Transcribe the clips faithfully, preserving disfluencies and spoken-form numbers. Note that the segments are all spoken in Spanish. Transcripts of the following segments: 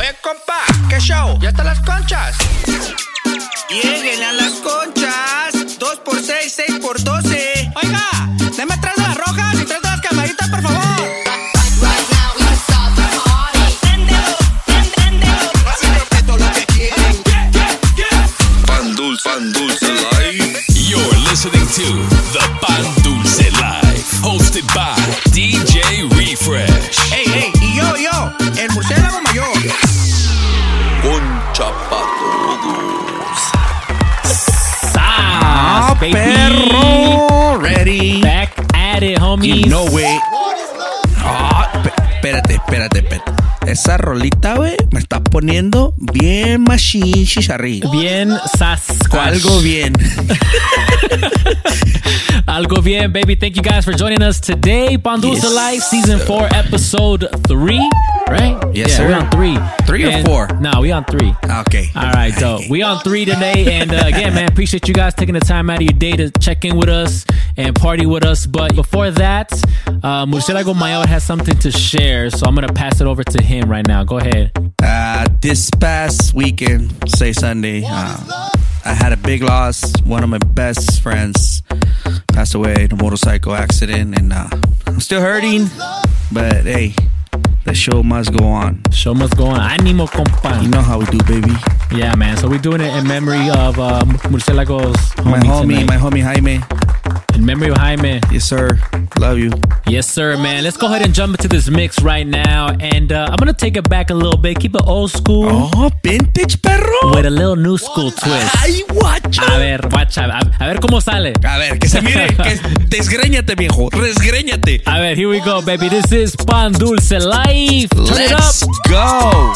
Eh, compa, ¿qué show? ¿Ya están las conchas? Lleguen a las conchas. Dos por seis, seis por doce. Oiga, deme tres de las rojas y tres de las camaritas, por favor. Pan Dulce, Pan Dulce Live. You're listening to the Pan Dulce Live, hosted by D J Refresh. Hey, hey, y yo, yo, el murciélago mayor. Concha pa' todos. Ah, baby. Perro, ready. Back at it, homies. You know it. Ah, espérate, espérate, espérate. Esa rolita, güey, me está poniendo bien machine chicharrí. Bien Sasquatch. Algo bien. Algo bien, baby. Thank you guys for joining us today. Pan Dulce Yes, Live, Season four, Episode three, right? Yes, yeah, sir. we're on three. Three or And- four? No, we on three. Okay. All right, dope. We on three today, and uh, again, man, appreciate you guys taking the time out of your day to check in with us and party with us. But before that, uh, Murcielago Mayor has something to share, so I'm gonna pass it over to him right now. Go ahead. Uh, this past weekend, say Sunday, uh, I had a big loss. One of my best friends passed away in a motorcycle accident, and uh, I'm still hurting. But hey, the show must go on. Show must go on. Animo, compa. You know how we do, baby. Yeah, man. So we're doing it in memory of uh, Murcielago's homie My homie, tonight. my homie Jaime. In memory of Jaime. Yes, sir. Love you. Yes, sir, man. Let's go ahead and jump into this mix right now. And uh, I'm going to take it back a little bit. Keep it old school Oh, vintage perro. with a little new school twist. Ay, guacho. A ver, guacha. A, a ver cómo sale. A ver, que se mire. Que desgréñate, viejo. Desgréñate. A ver, here we go, baby. This is Pan Dulce Live. Turn it up. Let's go.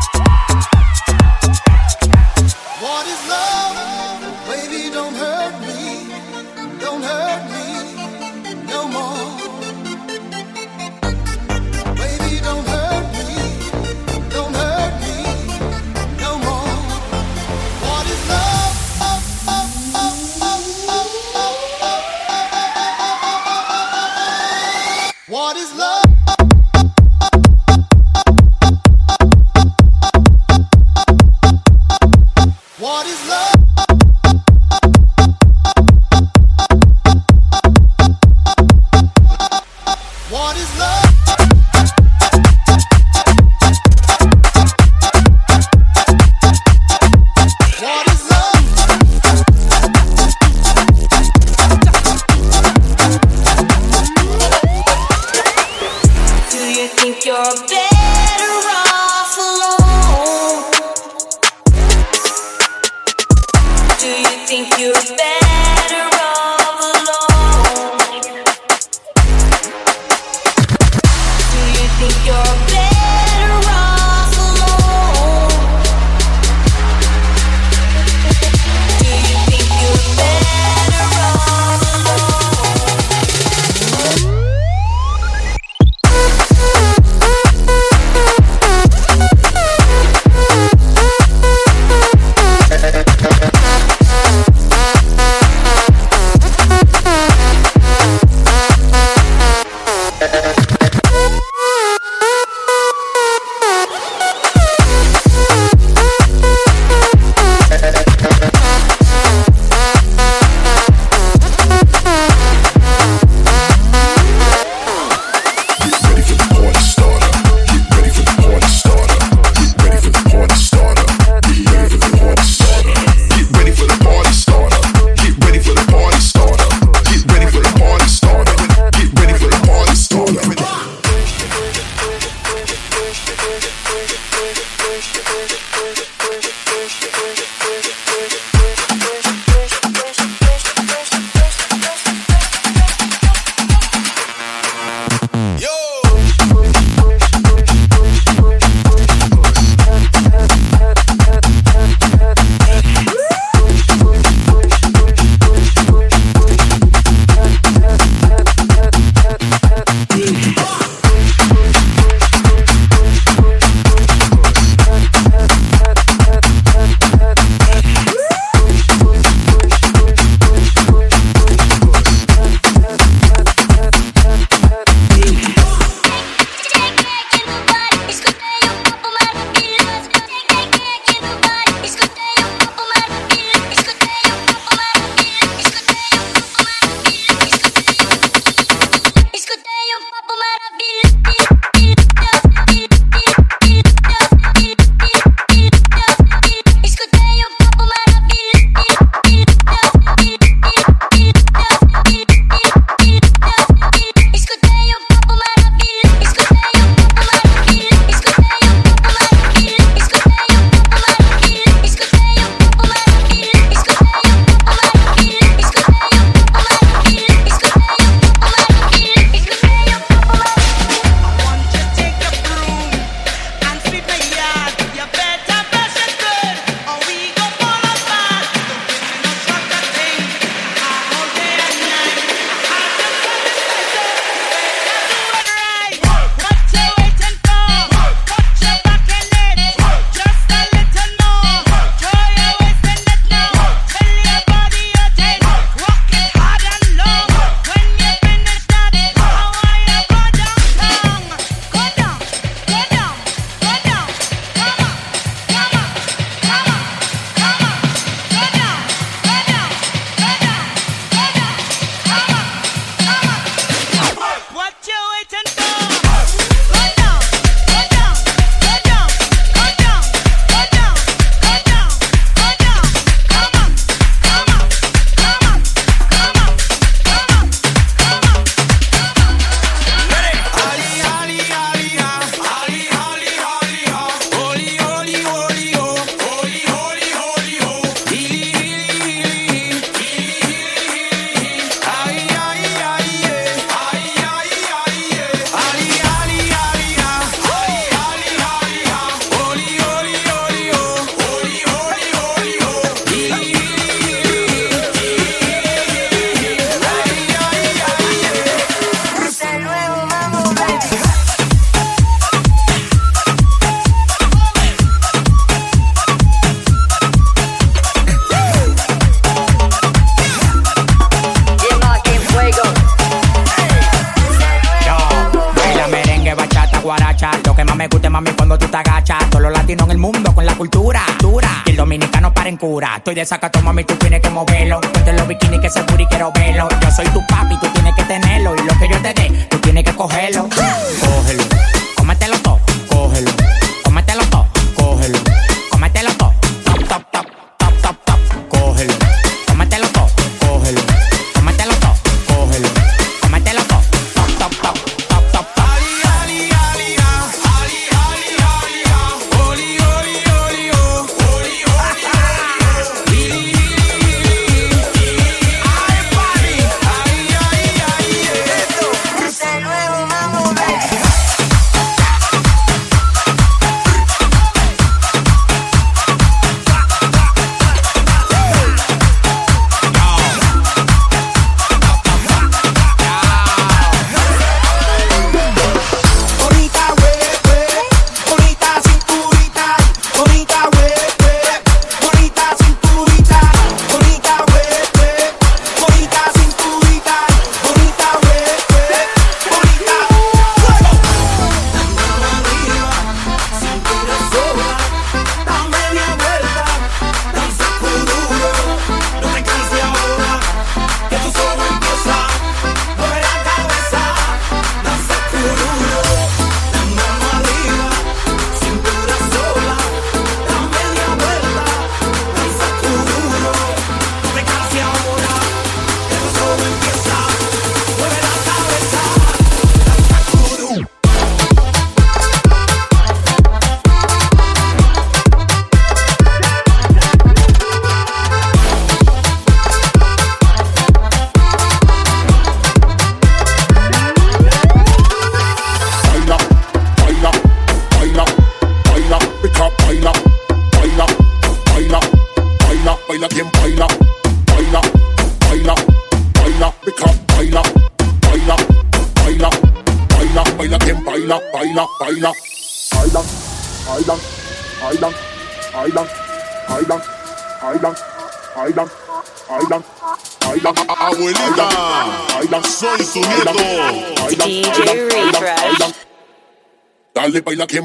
What is love? Baby, don't hurt me. Don't hurt me no more. Baby, don't hurt me. Don't hurt me no more. What is love? What is love? What is love? What is love? What is love? Do you think you're better off alone? Do you think you're better off alone? Do you think you're better off alone? Do you think you're better off alone? Ready for the party starter. Get ready for the party starter. Get ready for the party starter. Get ready for the party starter. Get ready for the party starter. Get ready for the party starter. Get ready for the party starter. Get ready for the party starter. borracha. Todos los latinos en el mundo con la cultura, dura. Y el dominicano para en cura. Estoy de sacato, mami, tú tienes que moverlo. Ponte los bikinis que ese booty quiero verlo. Yo soy tu papi, tú tienes que tenerlo. Y lo que yo te dé, tú tienes que cogerlo. Cógelo, cómetelo todo, cógelo. Cómetelo todo, cógelo. Cómetelo todo, top, top, top, top, top, top. Cógelo, cómetelo todo, cógelo. Cómetelo todo, cógelo. Cómetelo todo, top, top, top, top, top, top. Ese nuevo mambo, baby. Bonita bebé, bonita cinturita, bonita bebé, bonita cinturita, bonita bebé, bonita cinturita, bonita bebé, bonita. La mano arriba, cintura sola, da media vuelta, danza duro, no te canses ahora, que tú solo empieza, mueve la cabeza, danza duro. La mano arriba, cintura sola, da media vuelta, danza duro, no te canses ahora, que tú solo empieza, mueve la cabeza, danza duro. Baila, baila, baila, baila, pick up, baila, baila, baila, baila, baila, quien baila, baila, baila, baila, pick up, baila, baila, baila, baila, baila, quien baila, baila, baila, baila, baila, baila, baila, baila, baila, baila, baila, baila, Abuelita, baila, soy su nieto. baila, D J baila, baila, Refresh. baila. Dale, baila, quien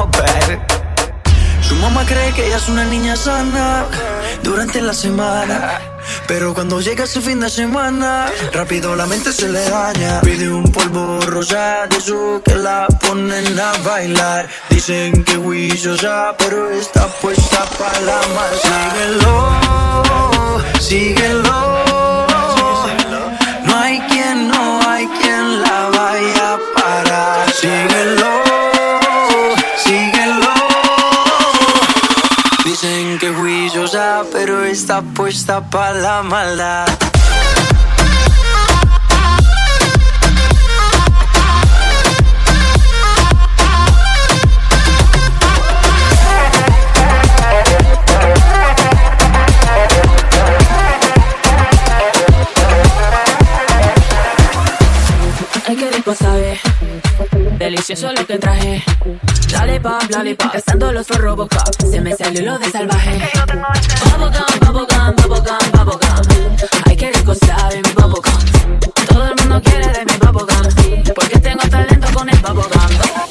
romper. Su mamá cree que ella es una niña sana durante la semana, pero cuando llega ese fin de semana, rápido la mente se le daña. Pide un polvo rosa de eso que la ponen a bailar. Dicen que juiciosa, pero está puesta para la mal. Síguelo, síguelo. No hay quien, no hay quien la vaya a parar. Síguelo, síguelo. Dicen que juiciosa, pero está puesta para la maldad. Ay, qué rico sabe, delicioso lo que traje. Lollipop, lollipop, gastando los for Robocop. Se me salió lo de salvaje. Bubblegum, bubblegum, bubblegum, bubblegum. Ay, qué rico sabe mi bubblegum. Todo el mundo quiere de mi bubblegum, porque tengo talento con el bubblegum.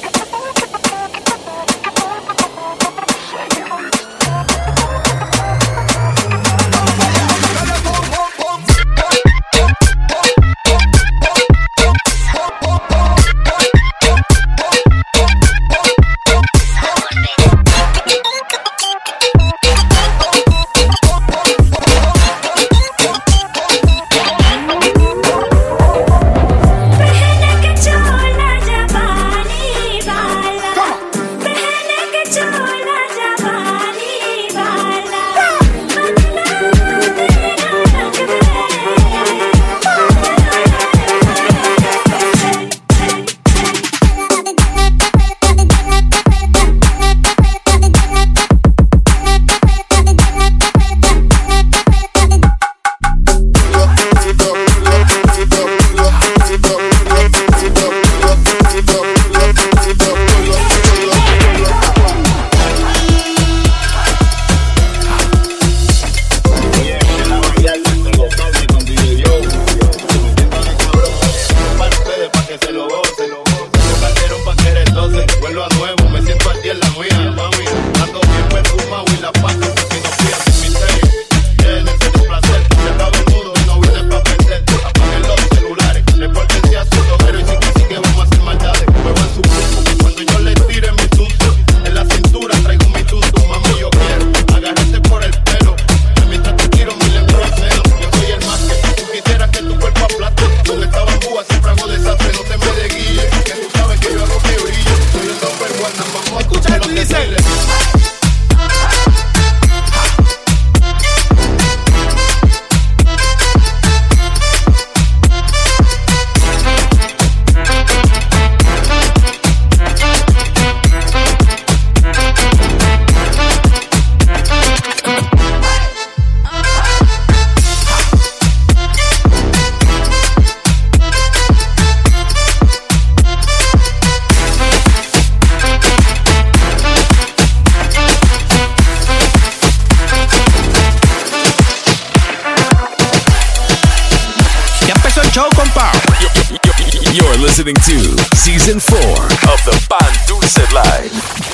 You're listening to Season four of the Pan Dulce Live.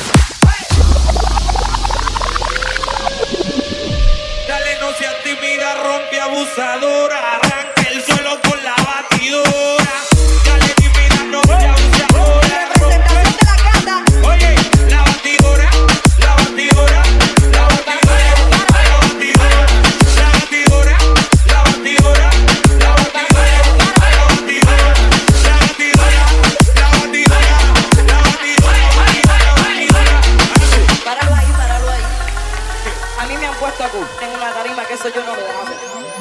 Dale, no seas tímida, rompe abusadora. Arranca el suelo con la batidora. Dale, tímida, rompe abusadora. Representación de la casa. Oye, la batidora, la batidora, la batidora, la batidora, la batidora, la batidora, la batidora, la batidora, la batidora, la batidora, la batidora, Páralo ahí, páralo ahí. A mí me han puesto a cu en una tarima que eso yo no lo hago.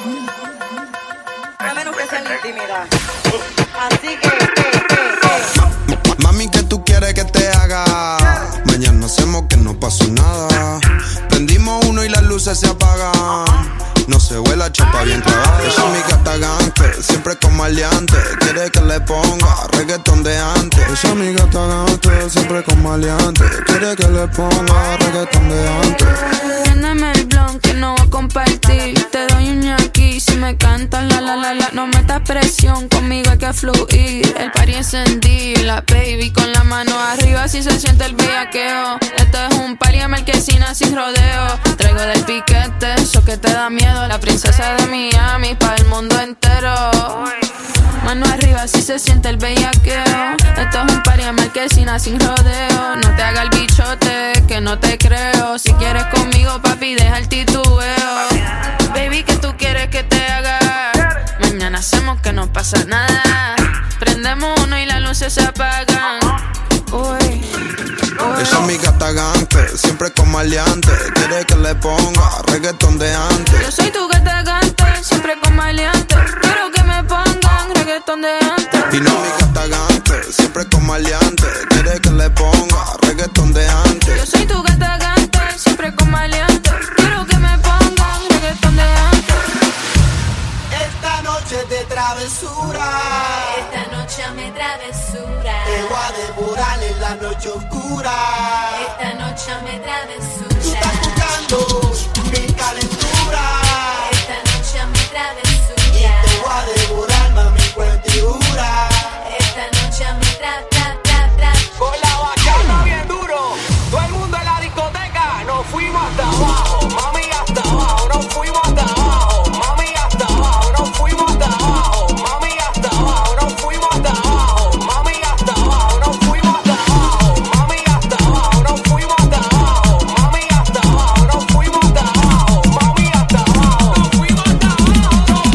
A menos que sea en la intimidad. Así que, que, que, que. Mami, ¿qué tú quieres que te haga? Mañana hacemos que no pasó nada. Prendimos uno y las luces se apagan. No se vuela, chapa bien clavada. Ella es mi gata gangster, siempre con maleante. Quiere que le ponga reggaetón de antes. Ella es mi gata gangster, siempre con maleante. Quiere que le ponga reggaetón de antes. Préndeme el blanco, que no voy a compartir. Te doy un ñaqui si me cantas la la la la. No metas presión, conmigo hay que fluir. El party encendido, la baby con la mano arriba si se siente el bellaqueo. Esto es un party de marquesina sin rodeo. Traigo del piquete, eso que te da miedo. La princesa de Miami pa' el mundo entero. Mano arriba si se siente el bellaqueo. Esto es un party de marquesina sin rodeo. No te haga el bichote, que no te creo. Si quieres conmigo, papi, deja el titubeo. Baby, ¿qué tú quieres que te haga? Mañana hacemos que no pasa nada. Prendemos uno y las luces se apagan. Uy, uy. Ella es mi gata gante, siempre con maleante. Quiere que le ponga reggaetón de antes. Yo soy tu gata gante, siempre con maleante. Quiero que me pongan reggaetón de antes. Y no mi gata gante, siempre con maleante. Quiere que le ponga reggaetón de antes. Yo soy tu gata gante, siempre con maleante. Quiero que me pongan reggaetón de antes. Esta noche de travesura. Esta noche me travesura. Te voy a devorar en la noche oscura. Esta noche me travesura. Tú estás buscando mi calentura. Esta noche me travesura. Y te voy a devorar, mami, cuentigura. Esta noche me tra, tra, tra, tra. Con la bachata bien duro. Todo el mundo en la discoteca. Nos fuimos hasta abajo. Mami, hasta abajo. Nos fuimos hasta abajo. Mami, hasta abajo. Nos fuimos hasta abajo. Mami, hasta abajo. Nos fuimos hasta abajo. Mami, hasta abajo. Nos fuimos hasta abajo. Mami, hasta abajo. Nos fuimos hasta abajo. Mami, hasta abajo. Nos fuimos hasta abajo. Mami, hasta abajo. Nos fuimos hasta abajo. Nos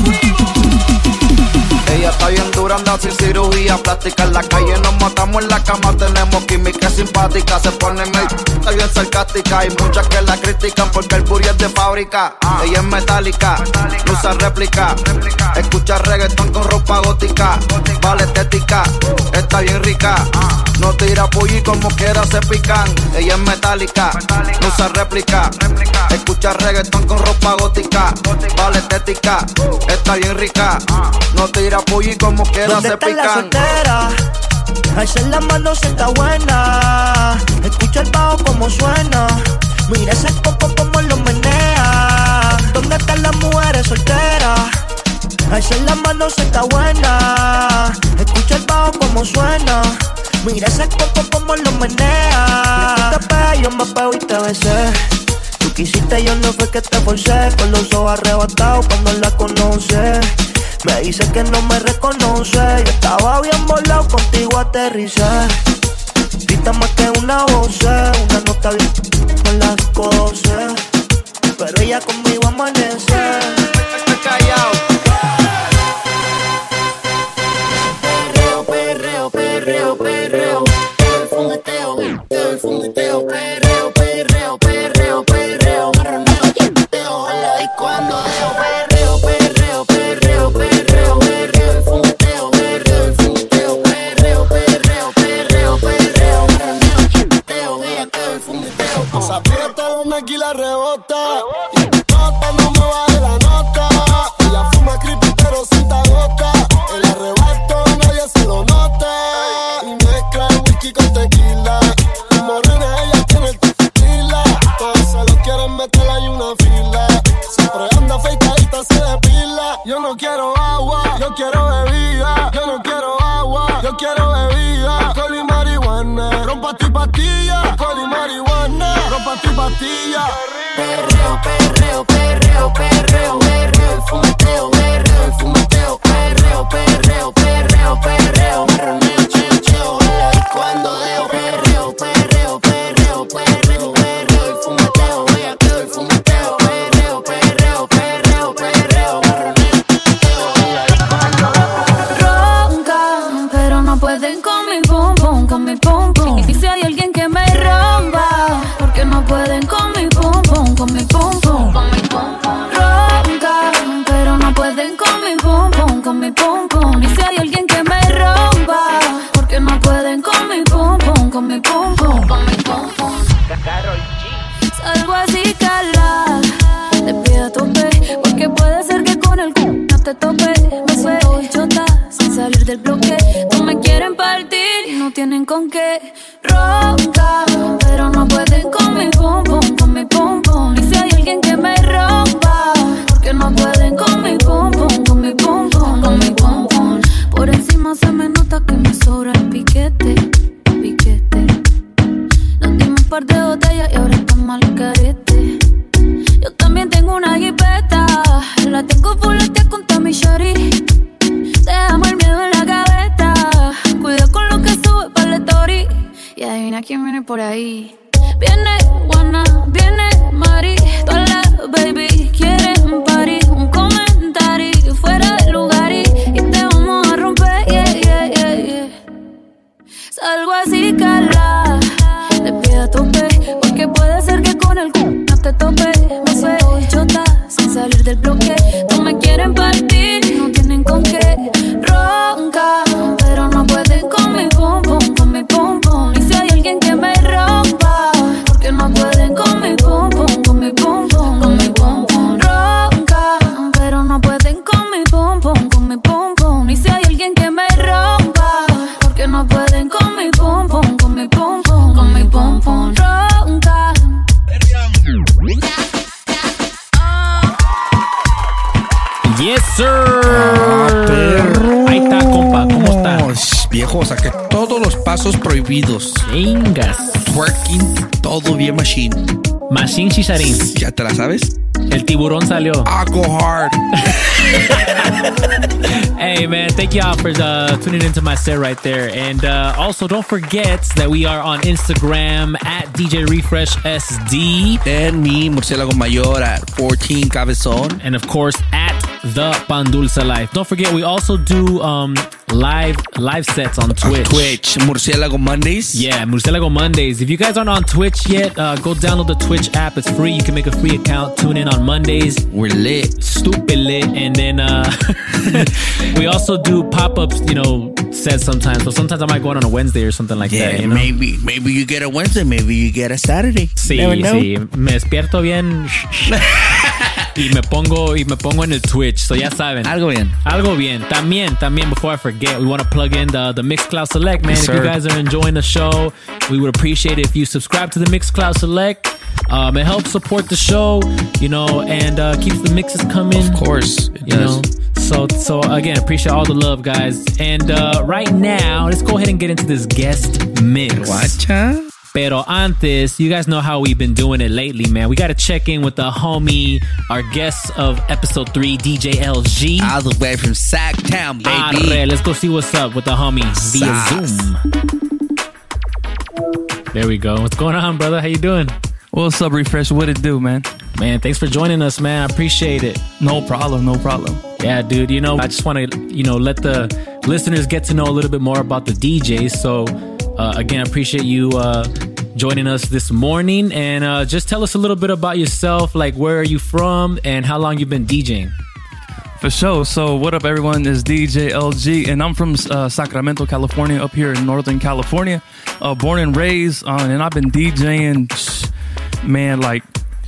fuimos. Ella está bien dura, anda sin cirugía plástica. En la calle nos matamos, en la cama tenemos química simpática. Se pone medio, está bien sarcástica. Hay muchas que la critican porque el booty es de fábrica. Ella es metálica, no usa réplica. Escucha reggaetón con ropa gótica. Vale estética, está bien rica. No tira pulli como quiera se pican. Ella es metálica, no usa réplica. Escucha reggaetón con ropa gótica. Vale estética, está bien rica. No tira pulli como quiera se pican. La soltera, alza la mano si está buena. Escucha el bajo como suena. Mira ese coco como lo menea. ¿Dónde están las mujeres solteras? Alza la mano si está buena. Escucha el bajo como suena. Mira ese coco como lo menea. Tú te pegas, yo me pego y te besé. Tú quisiste, yo no fue que te forcé. Con los ojos arrebatados cuando la conoces. Me dice que no me reconoce. Yo estaba bien volado, contigo aterricé. Grita más que una voz, una nota bien con las cosas. Pero ella conmigo amanece. Estoy callado. Perreo, perreo, perreo, perreo. El fumeteo, el fumeteo. Perreo, perreo, perreo, perreo. Marroneo, yeteo, a la disco ando deo. Perreo, perreo, perreo, perreo. Perreo, el fumeteo, perreo, el fumeteo. Perreo, perreo, perreo, perreo. Marroneo, yeteo, bellaqueo, el fumeteo. Se aprieta donde aquí la rebota. Y nota, no me baje la nota. Ella fuma creepy pero sin gota. El arrebato nadie se lo nota. Y mezcla el whisky con tequila. Y morena ella tiene el tequila. Todos se lo quieren meter, hay una fila. Siempre anda afeitadita, se depila. Yo no quiero agua, yo quiero bebida. Yo no quiero agua, yo quiero bebida. Alcohol y marihuana, rompa tu pastilla. Alcohol y marihuana, rompa tu pastilla. Perreo, perreo, perreo, perreo, perreo, el fumeteo, perreo, el fumeteo, perreo, perreo, perreo, perreo, marroneo, cheo, cheo, la disco ando deo, perreo, perreo, perreo, perreo, perreo, el fumeteo, bellaqueo, el fumeteo, perreo, perreo, perreo, perreo, marroneo, cheo, la disco ando deo. Roncan, pero no pueden con mi pum pum, con mi pum pum. Y si hay alguien que me rompa, porque no pueden con mi pum pum, con mi pum pum, con mi pum pum. Roncan, pero no pueden con mi pum pum, con mi pum pum. Y si hay alguien que me rompa, porque no pueden con mi pum pum, con mi pum pum, con mi pum pum. Salgo así cala, te pido a tope, porque puede ser que con el c*** no te tope. Me suelto chota sin salir del bloque. No me quieren partir y no tienen con qué. Ronca, pero no pueden con mi pum pum, con mi pum pum. Y si hay alguien que me rompa, botella y ahora estamos al carete. Yo también tengo una jipeta, la tengo fuletea con Tommy Shari. Dejamos el miedo en la gaveta, cuida con lo que sube para el story. Y adivina quién viene por ahí. Viene Juana, viene Mari, todas las baby quieren party. Un comentario fuera de lugar y, y te vamos a romper, yeah, yeah, yeah, yeah. Salgo así, cala, te pido a tope, porque puede ser que con el c*** no te tope. Me suelto y chota, sin salir del bloque. No me quieren partir, no tienen con qué. Ronca, pero no pueden con mi pum pum, con mi pum pum. Y si hay alguien que me rompa, porque no pueden con mi pum pum, con mi pum pum, con mi pum pum. Ronca, pero no pueden con mi pum pum, con mi pum pum. Y si hay alguien que me rompa, porque no pueden con mi pum pum, con mi pum pum, con mi pum pum. Ronca. Yes, sir. Ah, perro. Ahí está, compa. ¿Cómo está? Viejo, saqué todos los pasos prohibidos. Chingas. Twerking, todo bien machine. Machine Chicharín. ¿Ya te la sabes? El tiburón salió. I go hard. Hey, man, thank y'all for uh, tuning into my set right there. And uh, also, don't forget that we are on Instagram at D J Refresh S D. And me, Murcielago Mayor, at fourteen Cabezon. And of course, at The Pan Dulce Life. Don't forget, we also do um, live live sets on Twitch. On Twitch, Murcielago Mondays. Yeah, Murcielago Mondays. If you guys aren't on Twitch yet, uh, go download the Twitch app. It's free. You can make a free account. Tune in on Mondays. We're lit. Stupid lit. And then uh, we also do pop-ups, you know, sets sometimes. So sometimes I might go on, on a Wednesday or something like yeah, that. You know? maybe maybe you get a Wednesday, maybe you get a Saturday. Sí, Never know. sí. Me despierto bien y me pongo y me pongo en el Twitch. So ya saben. Algo bien. Algo bien. También, también, before I forget, we want to plug in the, the Mixcloud Select, man. Yes, if sir. you guys are enjoying the show, we would appreciate it if you subscribe to the Mixcloud Select. Um, it helps support the show, you know, and uh, keeps the mixes coming. Of course, it you does. know. So, so again, appreciate all the love, guys. And uh, right now, let's go ahead and get into this guest mix. Guacha. Pero antes, you guys know how we've been doing it lately, man. We got to check in with the homie, our guest of episode three, D J L G. All the way from Sacktown, baby. Arre, let's go see what's up with the homie via Sauce. Zoom. There we go. What's going on, brother? How you doing? What's up, Refresh? What it do, man? Man, thanks for joining us, man. I appreciate it. No problem, no problem. Yeah, dude, you know, I just want to, you know, let the listeners get to know a little bit more about the D Js. So, uh, again, I appreciate you uh, joining us this morning. And uh, just tell us a little bit about yourself, like where are you from and how long you've been DJing? For sure. So, what up, everyone? Is D J L G, and I'm from uh, Sacramento, California, up here in Northern California. Uh, born and raised, uh, and I've been DJing, man, like,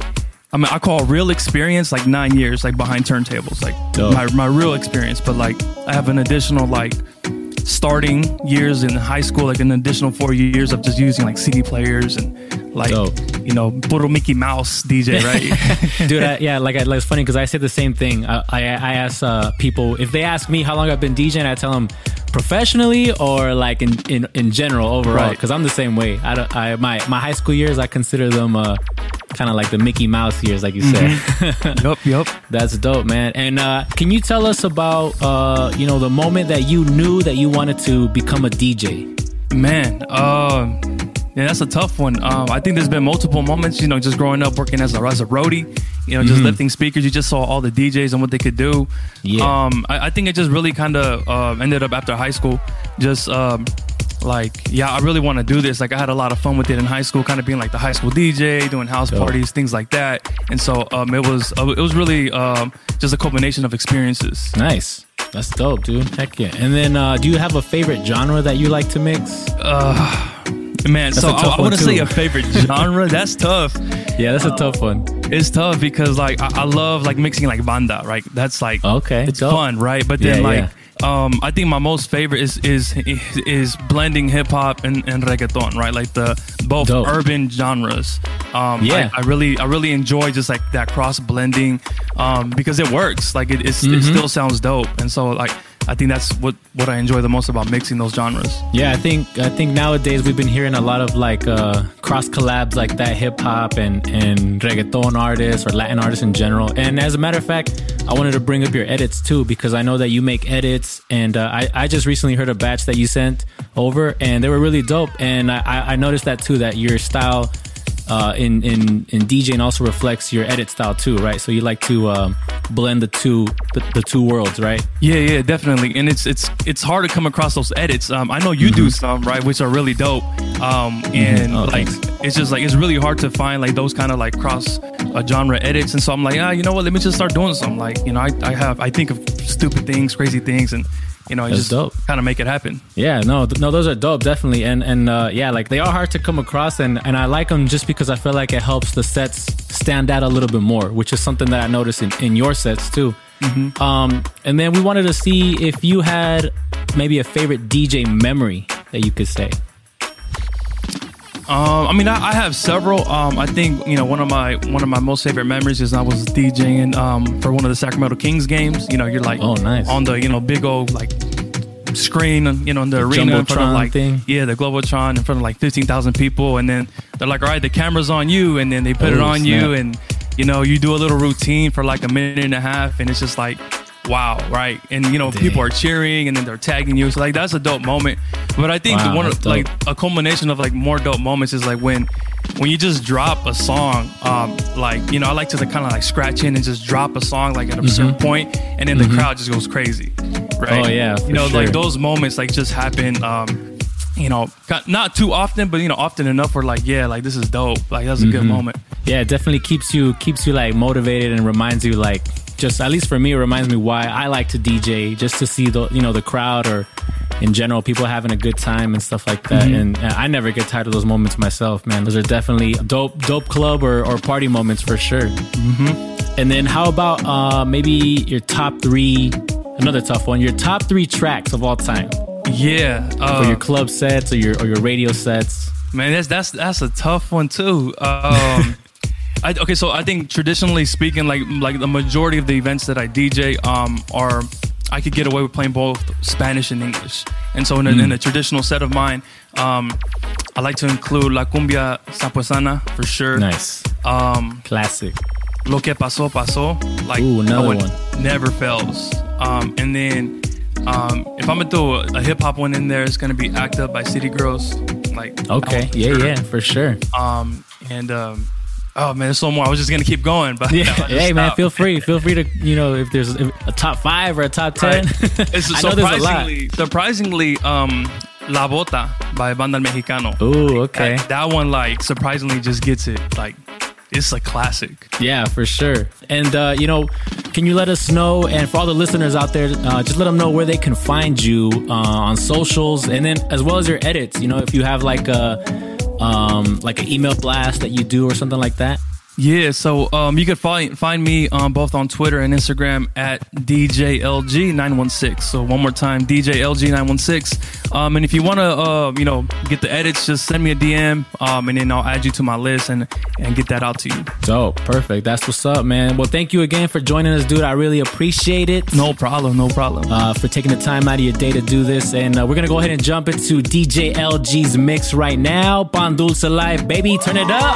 I mean, I call real experience like nine years, like behind turntables, like Dope. my my real experience. But like, I have an additional like starting years in high school, like an additional four years of just using like C D players and like Dope. you know, puro Mickey Mouse D J, right? Dude, I, yeah, like, I, like it's funny because I say the same thing. I I, I ask uh, people if they ask me how long I've been DJing, I tell them professionally or like in in, in general overall, Right. because I'm the same way. I, don't, I my my high school years, I consider them uh, kind of like the Mickey Mouse years, like you said. Yup, yup. That's dope, man. And uh, can you tell us about uh, you know, the moment that you knew that you wanted to become a D J? Man, um, yeah, that's a tough one. Um, I think there's been multiple moments, you know, just growing up working as a, as a roadie, you know, just Mhm. lifting speakers. You just saw all the D Js and what they could do. Yeah. Um, I, I think it just really kind of uh, ended up after high school. Just um, like, yeah, I really want to do this. Like, I had a lot of fun with it in high school, kind of being like the high school D J, doing house Dope. parties, things like that. And so um, it was uh, it was really um, just a combination of experiences. Nice. That's dope, dude. Heck yeah. And then uh, do you have a favorite genre that you like to mix? Uh, man, That's so a tough I, I one, want to too. say a favorite genre. That's tough. Yeah, that's a tough one. It's tough because like I, I love like mixing like banda, right? That's like Okay, it's dope. fun, right? But then Yeah, like yeah. um I think my most favorite is is is blending hip hop and, and reggaeton, right? Like the both Dope. urban genres. Um Yeah. I, I really I really enjoy just like that cross blending um because it works. Like it it's, it Mhm. still sounds dope. And so like I think that's what, what I enjoy the most about mixing those genres. Yeah, I think I think nowadays we've been hearing a lot of like uh, cross collabs like that, hip hop and and reggaeton artists or Latin artists in general. And as a matter of fact, I wanted to bring up your edits too, because I know that you make edits, and uh, I I just recently heard a batch that you sent over, and they were really dope. And I I noticed that too, that your style uh, in in in DJing also reflects your edit style too, right? So you like to um, blend the two the, the two worlds, right? Yeah, yeah, definitely. And it's it's it's hard to come across those edits. Um, I know you mm-hmm. do some, right, which are really dope. Um, and mm-hmm. oh, like thanks. It's just like it's really hard to find like those kind of like cross uh, genre edits. And so I'm like, ah, you know what? Let me just start doing something. Like, you know, I I have I think of stupid things, crazy things, and you know, I just kind of make it happen. Yeah, no, th- no, those are dope, definitely. And and uh, yeah, like they are hard to come across, and, and I like them just because I feel like it helps the sets stand out a little bit more, which is something that I noticed in, in your sets too. Mm-hmm. Um, and then we wanted to see if you had maybe a favorite D J memory that you could say. Um, I mean, I, I have several. Um, I think you know one of my one of my most favorite memories is I was DJing um, for one of the Sacramento Kings games. You know, you're like oh, nice. on the you know big old like screen, you know, in the, the arena in front of like thing. yeah, the Globotron in front of like fifteen thousand people, and then they're like, all right, the camera's on you, and then they put oh, it on snap. you, and you know, you do a little routine for like a minute and a half, and it's just like. Wow, right? And you know, Dang. people are cheering and then they're tagging you. So like that's a dope moment. But I think wow, one of like a culmination of like more dope moments is like when when you just drop a song, um, like, you know, I like to kind of like scratch in and just drop a song like at a mm-hmm. certain point, and then mm-hmm. the crowd just goes crazy. Right? Oh yeah. You know, sure. like those moments like just happen um, you know, not too often, but you know, often enough where like, yeah, like this is dope. Like that's a mm-hmm. good moment. Yeah, it definitely keeps you keeps you like motivated and reminds you like just at least for me, it reminds me why I like to D J, just to see the you know the crowd or in general people having a good time and stuff like that. Mm-hmm. And I never get tired of those moments myself, man. Those are definitely dope, dope club or, or party moments for sure. Mm-hmm. And then how about uh, maybe your top three? Another tough one. Your top three tracks of all time. Yeah, uh, for your club sets or your or your radio sets. Man, that's that's that's a tough one too. Um, I, okay, so I think traditionally speaking, like like the majority of the events that I D J um, are, I could get away with playing both Spanish and English. And so in a, mm. in a traditional set of mine, um, I like to include La Cumbia Sapuesana for sure. Nice. Um, Classic. Lo que pasó, pasó. Like, Ooh, another no, one. Never fails. Um, and then um, if I'm going to throw a, a hip-hop one in there, it's going to be Act Up by City Girls. Like, okay, yeah, sure. yeah, for sure. Um, and... Um, Oh man, there's so more. I was just gonna keep going, but yeah. no, hey stop. man, feel free, feel free to you know if there's a top five or a top ten. Right. It's I know there's a lot. Surprisingly, um, La Bota by Banda El Mexicano. Ooh, okay. That, that one, like, surprisingly, just gets it. Like, it's a classic. Yeah, for sure. And uh, you know, can you let us know? And for all the listeners out there, uh, just let them know where they can find you uh, on socials, and then as well as your edits. You know, if you have like a. Um, like an email blast that you do or something like that? Yeah, so um, you can find find me um, both on Twitter and Instagram at D J L G nine one six. So one more time, D J L G nine one six. Um, and if you want to, uh, you know, get the edits, just send me a D M, um, and then I'll add you to my list and and get that out to you. Dope, perfect. That's what's up, man. Well, thank you again for joining us, dude. I really appreciate it. No problem, no problem. Uh, for taking the time out of your day to do this, and uh, we're gonna go ahead and jump into D J L G's mix right now. Pan Dulce Life, baby, turn it up.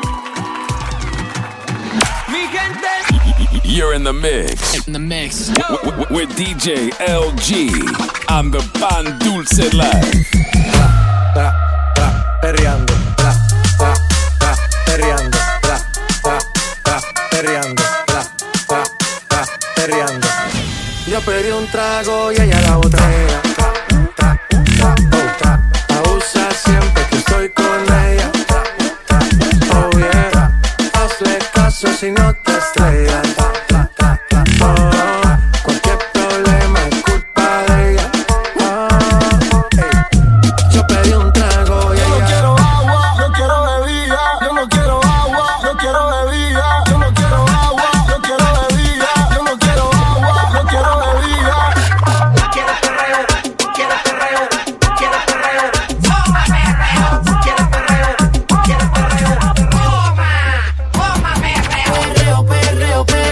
You're in the mix. In the mix. W- w- with D J L G on the Pan Dulce Life. Tra, tra, perreando. Tra, tra, tra, perreando. Tra, tra, tra, perreando. Tra, tra, tra, perreando. Yo pedí un trago y ella la botella. Tra, tra, tra, oh, tra. Abusa siempre que estoy con ella. Tra, tra, oh yeah. Hazle caso si no te estrellas. Perreo, perreo, perreo.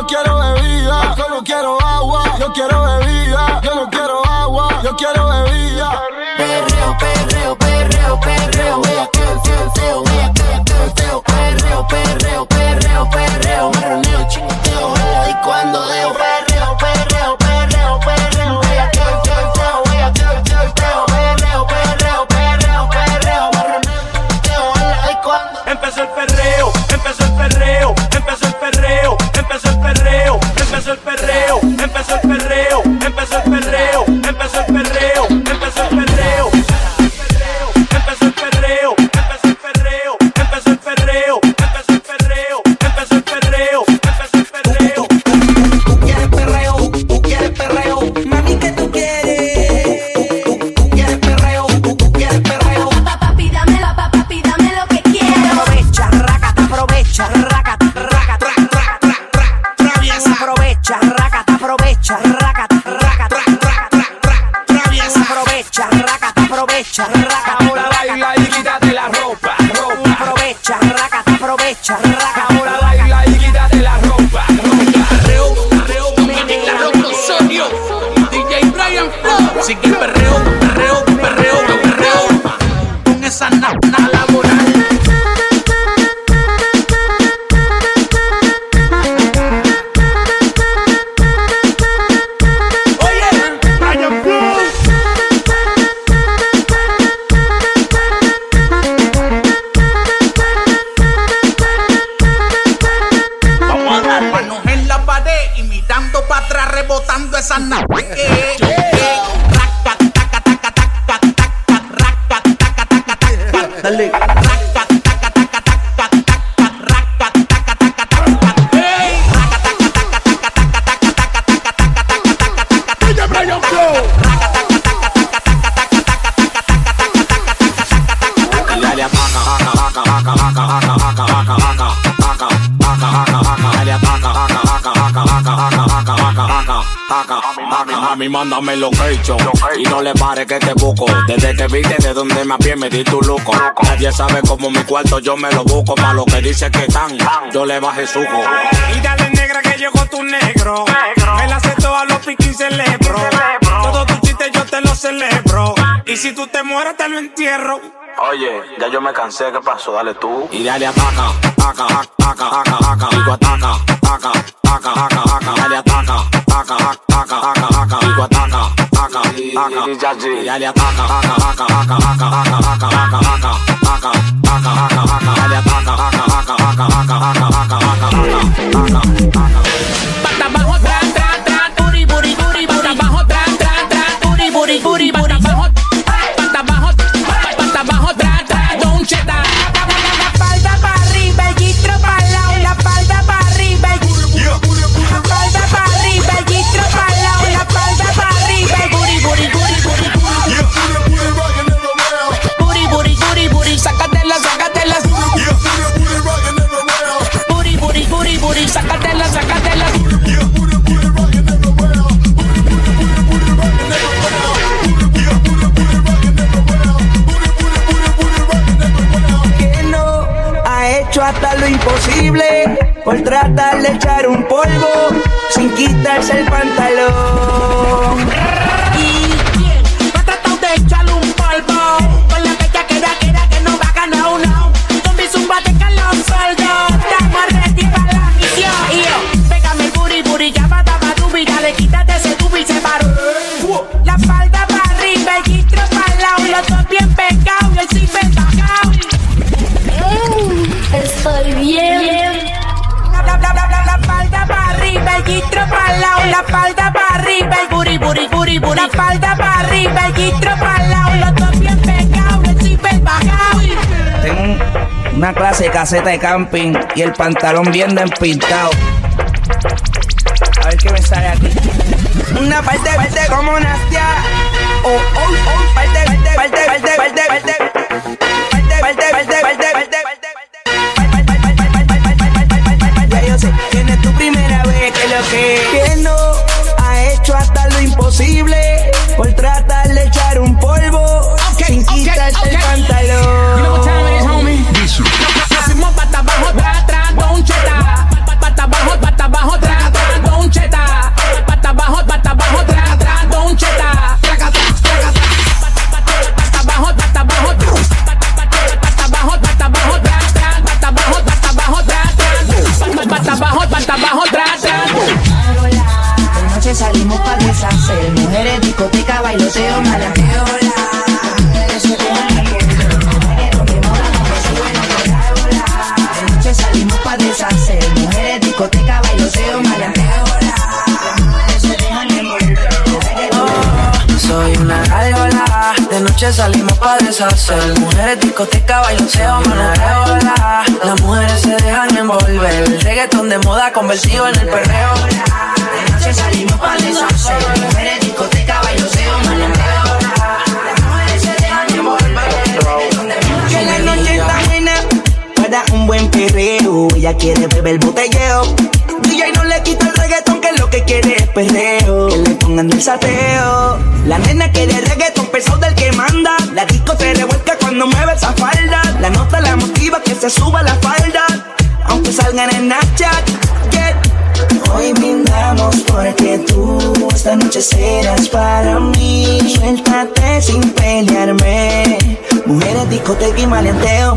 yo quiero bebida. Yo no quiero agua, yo quiero bebida. Yo no quiero agua, yo quiero bebida. Perreo, perreo, perreo, perreo, vea que el feo, feo, vea que el feo, perreo, perreo, perreo, perreo, marroneo, chingoteo, vea y cuando deo, perreo, perreo, perreo, perreo, vea que el feo, vea que el feo, perreo, perreo, perreo, perreo, marroneo, chingoteo, vea y cuando. Empezó el perreo, empezó el perreo, empezó el perreo, empezó el perreo, empezó el perreo, empezó el perreo, empezó el perreo, empezó el perreo, empezó el perreo. Empezó el perreo, empezó el perreo, empezó el perreo, empezó el perreo, empezó el perreo, empezó el perreo. Tú quieres perreo, tú quieres perreo, mami, ¿qué tú quieres? Tú quieres perreo, tú quieres perreo. Papi, dame la papi, dame lo que quiero. Aprovecha, rácata, aprovecha, rácata, rácata, traviesa. Aprovecha, rácata, aprovecha, rácata, rácata, traviesa. Aprovecha, rácata, aprovecha, rácata. Ahora baila y quítate la ropa, ropa. Aprovecha, rácata, aprovecha, rácata. Ahora baila y quítate la ropa, ropa. Perreo, perreo, en la ropa Osorio, D J Brian Flow. Sigue el perreo, perreo, perreo, perreo. Con esa nana laboral. Manos en la pared y mirando para atrás, rebotando esa nave. Eh, eh, raca, taca, taca, taca, taca, raca, taca, taca, taca. Dale. Raca, taca, taca, taca, taca, raca, taca, taca, taca. Ey, raca, taca, taca, taca, taca, taca, taca, taca, taca, taca, taca, taca. D J Brian Flow. Raca, taca, taca, taca, taca, taca, taca, taca, taca, taca, taca, taca, taca, taca. Dale ataca, ataca, ataca, ataca, ataca, ataca, ataca, ataca, ataca, ataca, dale ataca, ataca, ataca, ataca, ataca, ataca, ataca, ataca. Mami, mándame location y no le pare que te busco. Desde que viste de donde me pie me di tu luco. Nadie sabe cómo mi cuarto yo me lo busco. Pa' lo que dice que están, yo le bajé suco. Y dale negra que llegó tu negro. Me la acepto a los piquis celebro. Todos tus chistes yo te los celebro. Y si tú te mueres te lo entierro. Oye, ya yo me cansé, ¿qué pasó? Dale tú. Y dale ataca, ataca, ataca, ataca, ataca. Digo ataca, ataca, ataca, ataca, ataca. Dale ataca, ataca, ataca, ataca, ataca. Digo ataca, ataca, ataca. Y dale ataca, ataca, ataca, ataca, ataca, ataca, ataca, ataca, ataca, ataca, ataca. Dale ataca, ataca, ataca, ataca, ataca, ataca, ataca, ataca, ataca. Pata abajo, tra, tra, tra, booty, booty, booty, pata abajo, tra, tra, tra, booty, booty, booty, pata abajo, pata abajo, pata abajo, tra, tra, don cheta. La espalda para arriba, el gistro para el lado, la espalda para arriba, la espalda para arriba, el gistro para el lado, la espalda para arriba, booty, booty, booty, booty, booty, booty, booty, booty, sácatela, sácatela, booty, booty, booty, booty, sácatela, sácatela. Hecho hasta lo imposible por tratar de echar un polvo sin quitarse el pantalón. ¿Y quién no ha tratado de echarle un polvo con la fecha que da, que da, que no va a ganar uno? Con mi zumba de calor soldo, estamos ready para la misión. Y yo, pégame el booty, booty, ya va, daba, dubi, dale, quítate ese dubi, se paró. La espalda para arriba, el gistro para el lado, los dos bien pegados y el zipper bajado. Estoy bien. La, la, la, la, la espalda para arriba, el gistro para el lado, la espalda para arriba, el booty, booty, booty, booty. La espalda para arriba, el gistro para el lado, los dos bien pegados, el zipper bajado. Tengo una clase de caseta de camping y el pantalón bien despintado. A ver qué me sale aquí. Una parte, parte como Nastia. Oh, oh, oh. Parte, parte, parte, parte, parte, parte. Parte, parte, parte, parte, parte. Ya yo sé quién es tu primera vez, que lo que que no ha hecho hasta lo imposible por tratar de echar un polvo sin quitarse el pantalón. You know what time it is, homie? Hacemos pata abajo, tra, tra, don cheta. Pata abajo, pata abajo, tra, tra. salimos pa' deshacer. Mujeres, discoteca, bailoteo, malateo. De noche salimos pa' deshacer. Mujeres, discoteca, bailoteo, malateo. Soy una gárgola, de noche salimos pa' deshacer. Mujeres, discoteca, bailoteo, manoteo. Las mujeres se dejan envolver. El reggaetón de moda convertido en el perreo. De noche salimos pa' deshacer. Mujeres, discoteca, bailoteo, manoteo. Las mujeres se dejan envolver. Que la noche está buena para un buen perreo. Ella quiere beber botelleo. D J no le quita el reggaetón, que lo que quiere es perreo. Que le pongan el sateo. La nena quiere reggaetón pesado del que manda. La disco se revuelca cuando mueve esa falda. La nota la motiva que se suba la falda, aunque salgan en Snapchat. Yeah. Hoy brindamos porque tú esta noche serás para mí. Suéltate sin pelearme. Mujeres, discoteca y maleanteo.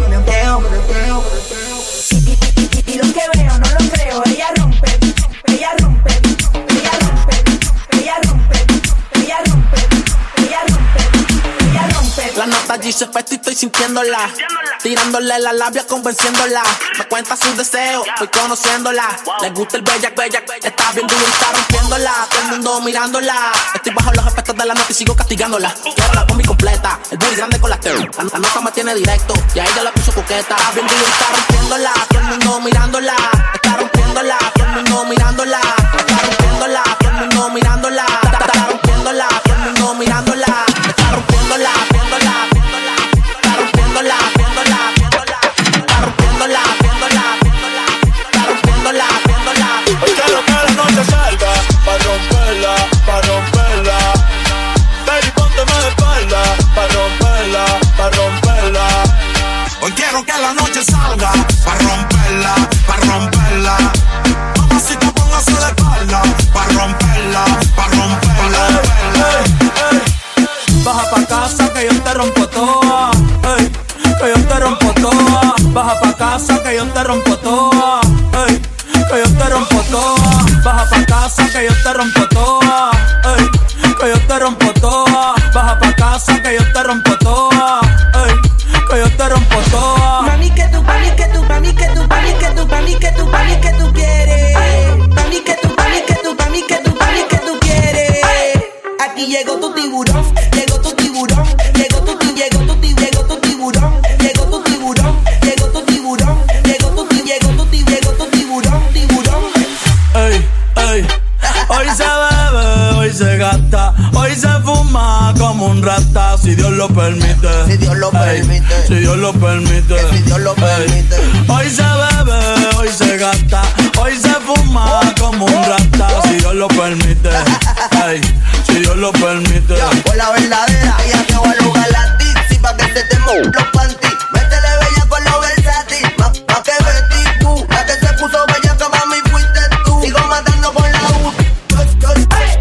Y lo que veo no lo creo. Ella rompe, ella rompe, ella rompe, ella rompe, ella rompe, ella rompe, ella rompe. La nota allí se fue y estoy sintiéndola. Tirándole la labia, convenciéndola. Me cuenta sus deseos, voy conociéndola. Le gusta el bellac, bellac, está bien duro y está rompiéndola. Todo el mundo mirándola. Estoy bajo los efectos de la nota y sigo castigándola. Quiero la combi completa, el booty grande con la teo. La, la nota me tiene directo y a ella la puso coqueta. Está bien duro y está rompiéndola. Todo el mundo mirándola. Está rompiéndola. Todo el mundo mirándola. Está rompiéndola. Todo el mundo mirándola. Está, está rompiéndola. Todo el mundo mirándola. Está rompiéndola. Pa' romperla, pa' romperla. Baby, pónteme de espalda. Pa' romperla, pa' romperla. Hoy quiero que la noche salga. Pa' romperla, pa' romperla. Mamacita, póngase de espalda. Pa' romperla, pa' romperla. Ey, ey, ey. Baja pa' casa que yo te rompo toda. Ey, que yo te rompo toda. Baja pa' casa que yo te rompo toda. Ey, que yo te rompo toda. Baja pa' casa que yo te rompo toda. Ey, que yo te rompo toda. Baja pa' casa que yo te rompo toda. Ey, que yo te rompo toda. Mami, que tú, mami, que tú, mami, que tú, mami, que tú, mami, que tú, mami, que tú quieres. Mami, que tú, mami, que tú, mami, que tú, mami, que tú quieres. Aquí llegó tu tiburón, llegó tu tiburón, llegó tu ti, llegó tu ti, llegó tu tiburón, llegó tu tiburón, llegó tu tiburón, llegó tu ti, llegó tu ti, llegó tu tiburón, tiburón. Ey, ey. Hoy se bebe, hoy se gasta, hoy se fuma como un rata, si Dios lo permite. Si Dios lo Ey, permite. si Dios lo permite. Si Dios lo permite. Ey, hoy se bebe, hoy se gasta, hoy se fuma como un rata, si Dios lo permite. Ey, si Dios lo permite. Por la verdadera, ella te va a lugar la tizi pa' que se te muevan los panty. Métele bella con lo versátil, más pa' que Betty tú. La que se puso bella que mami fuiste tú. Sigo matando con la U. Chot, chot,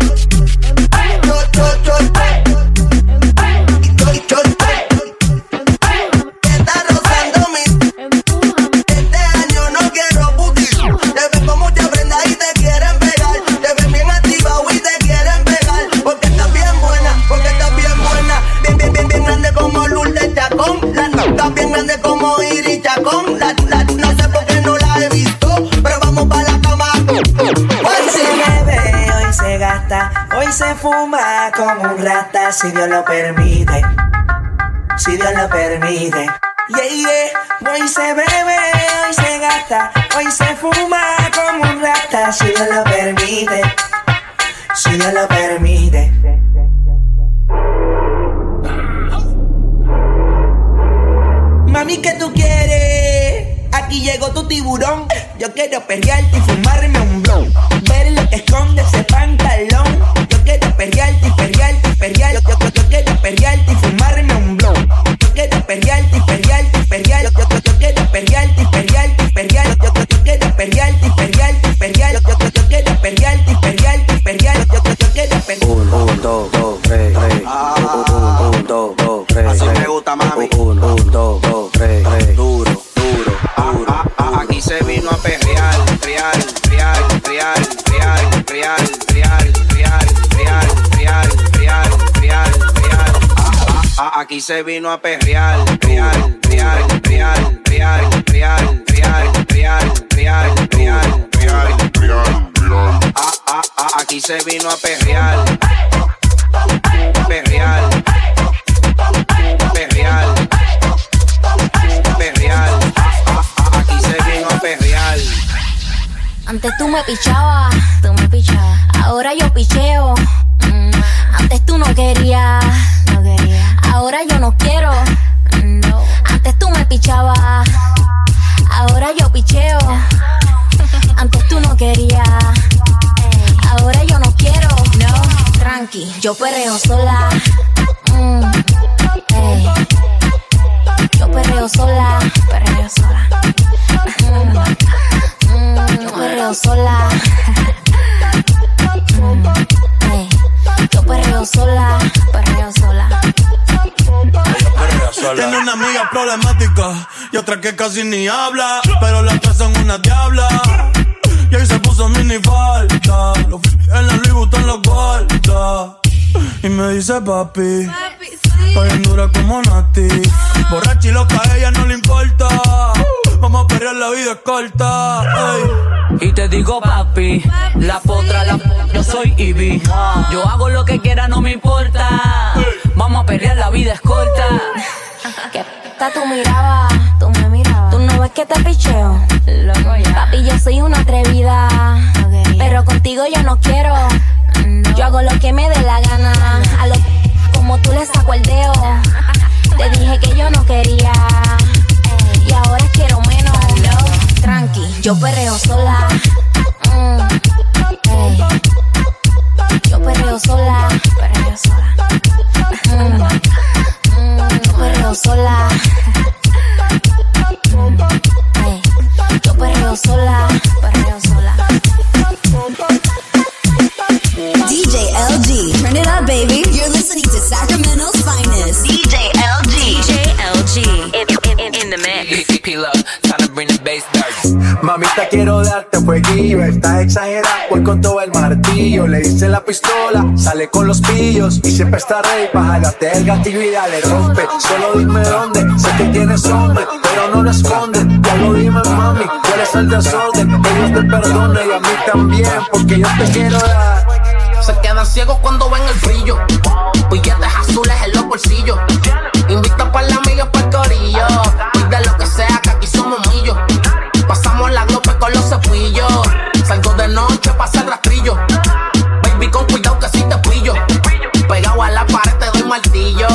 chot, chot, chot. Y chot, chot, te está rozando mi. Este año no quiero booty. Te ven con mucha prenda y te quieren pegar. Te ven bien activado y te quieren pegar. Porque estás bien buena, porque estás bien buena. Bien, bien, bien, bien grande como Lourdes Chacón. La nota bien grande como Iris Chacón. La, la, no sé por qué no la he visto, pero vamos pa' la cama. Hoy se bebe, hoy se gasta, hoy se fuma como un rata, si Dios lo permite, si Dios lo permite. Yeah, yeah. Hoy se bebe, hoy se gasta, hoy se fuma como un rata, si Dios lo permite, si Dios lo permite. Mami, ¿qué tú quieres? Aquí llegó tu tiburón. Yo quiero perrearte y fumarme un blon. Ver lo que esconde ese pantalón. Yo quiero perrearte y perrearte y perrearte. Yo, yo, yo quiero perrearte y fumarme un blon. Yo quiero perrearte y perrearte y perrearte. Yo, yo, yo quiero perrearte y perrearte y perrearte. Yo, yo, yo quiero perrearte y perrearte y perrearte. Yo, yo, yo quiero perrearte y perrearte y perrearte. Yo, yo, yo quiero perrearte. Un, un, dos, dos, tres, tres. Un, un, dos, dos, tres. Así me gusta, mami. Un, un, dos, dos, tres, tres. Duro, duro, duro. Ah, ah, ah, aquí se vino a perrear, real, real, real, real, real, real, real. Aquí se vino a perrear, real, real, real, real, real, real, real, real, real, real, real, real. Ah, ah, ah, aquí se vino a perrear, perrear, perrear, perrear. Ah, ah, aquí se vino a perrear. Antes tú me pichabas, tú me pichabas. Ahora yo picheo. Mm. Antes tú no querías, no quería. Ahora yo no quiero. No. Antes tú me pichabas. Ahora yo picheo. Antes tú no querías. Ahora yo no quiero. No. Tranqui, yo perreo sola. Mm. Ey. Yo perreo sola. Perreo sola. Mm. Yo perreo sola. Mm, hey. Yo perreo sola, perreo sola. Tiene una amiga problemática y otra que casi ni habla, pero las tres son una diabla. Y ahí se puso mini falta, los f- en la Louis Vuitton los guarda. Y me dice papi, papi sí. Estoy en dura como Nati. Borracha y loca, a ella no le importa. Vamos a perrear, la vida es corta. Ey. Y te digo papi, papi la potra, la potra, yo soy Ivy. Yo hago lo que quiera, no me importa. Vamos a perrear, la vida es corta. ¿Qué p*** tú mirabas? Tú me mirabas. ¿Tú no ves que te picheo? Loco ya. Papi, yo soy una atrevida. Okay. Pero contigo yo no quiero. No. Yo hago lo que me dé la gana. A lo como tú le saco el dedo. Te dije que yo no quería. Y ahora quiero menos. No. Tranqui, yo perreo sola. Mm. Hey. Yo perreo sola. Perreo sola. Mm. Mm. Yo perreo sola. Mm. Hey. Yo perreo sola. Perreo sola. D J L G, turn it up, baby. You're listening to Sacramento's finest. D J L G. D J L G. In, in, in the mix. Peel up, time to bring the bass down. Mamita, quiero darte fueguillo. Estás exagerada, voy con todo el martillo. Le hice la pistola, sale con los pillos. Y siempre está ready pa' jalarte el gatillo y dale rompe. Solo dime dónde, sé que tienes hombre, pero no lo escondes. Ya lo dime, mami, cuál es el desorden. Ellos te perdonen y a mí también, porque yo te quiero dar. Se quedan ciegos cuando ven el brillo. Billetes azules en los bolsillos. Invita pa' la amiga pa' el corillo. Pide lo que sea, que aquí somos millos. Pasamos la glope con los cepillos. Salgo de noche pa' hacer rastrillo. Baby, con cuidado que si te pillo. Pegado a la pared te doy martillo.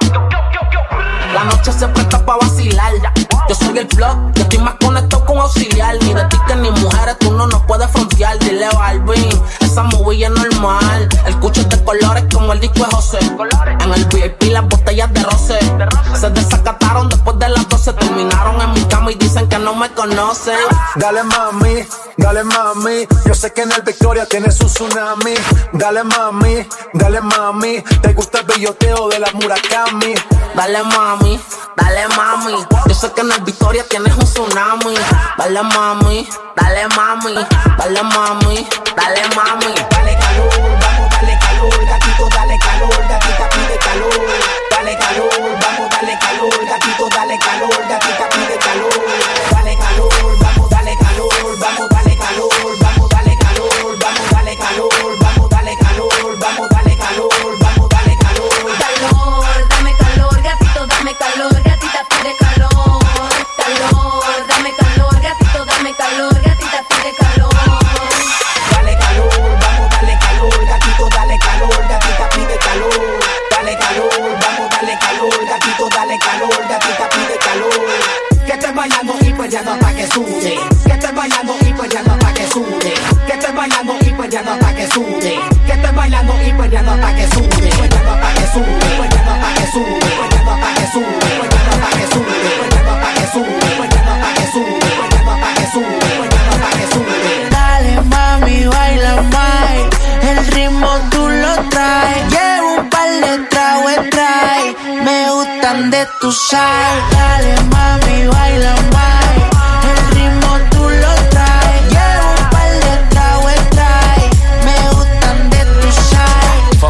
La noche se presta pa' vacilar. Yo soy el plug, yo estoy más conectado con auxiliar. Ni de ti que ni mujeres, tú no nos puedes frontear. Dile Balvin, esa movie es normal. El cucho es de colores como el disco de José. En el V I P las botellas de roce se desacataron después de las doce. Terminaron en mi cama y dicen que no me conocen. Dale mami, dale mami. Yo sé que en el Victoria tienes un tsunami. Dale mami, dale mami. Te gusta el belloteo de la Murakami. Dale mami, dale mami. Yo sé que en el Victoria tienes un tsunami. Dale mami, dale mami. Dale mami, dale mami. Dale calor, vamos, dale calor. Gatito, dale calor. Gatita pide calor. Dale calor, vamos, dale calor. Gatito, dale calor. Gatita pide calor. Dale calor, vamos, dale calor. Vamos, dale calor. Vamos, dale calor. Vamos, dale calor. Vamos, dale calor. Vamos, dale calor. Vamos, dale calor. Calor, dame calor, gatito, dame calor. Gatita pide calor. Calor, dame calor, gatito, dame calor. Gatita pide calor. Dale calor, vamos, dale calor. Gatito, dale calor. Gatita pide calor. Dale calor, vamos, dale calor. Gatito, dale calor. Gatita pide calor. Que estés bailando y perreando hasta que sude. Que estés bailando y perreando hasta que sude. Que estés bailando y perreando hasta que sude. Que estés bailando y perreando hasta que sude. Perreando hasta que sude. Perreando hasta que sude. Perreando hasta que sude. Perreando hasta que sude. Perreando hasta que sude. Perreando hasta que sude. Perreando hasta que sude. Perreando hasta que sube. Dale mami, baila más. El ritmo tú lo traes. Llevo un par de tragos trae. Me gustan de tu sal. Dale mami, baila más. El ritmo tú lo traes. Llevo un par de tragos trae. Me gustan de tu sal. Four million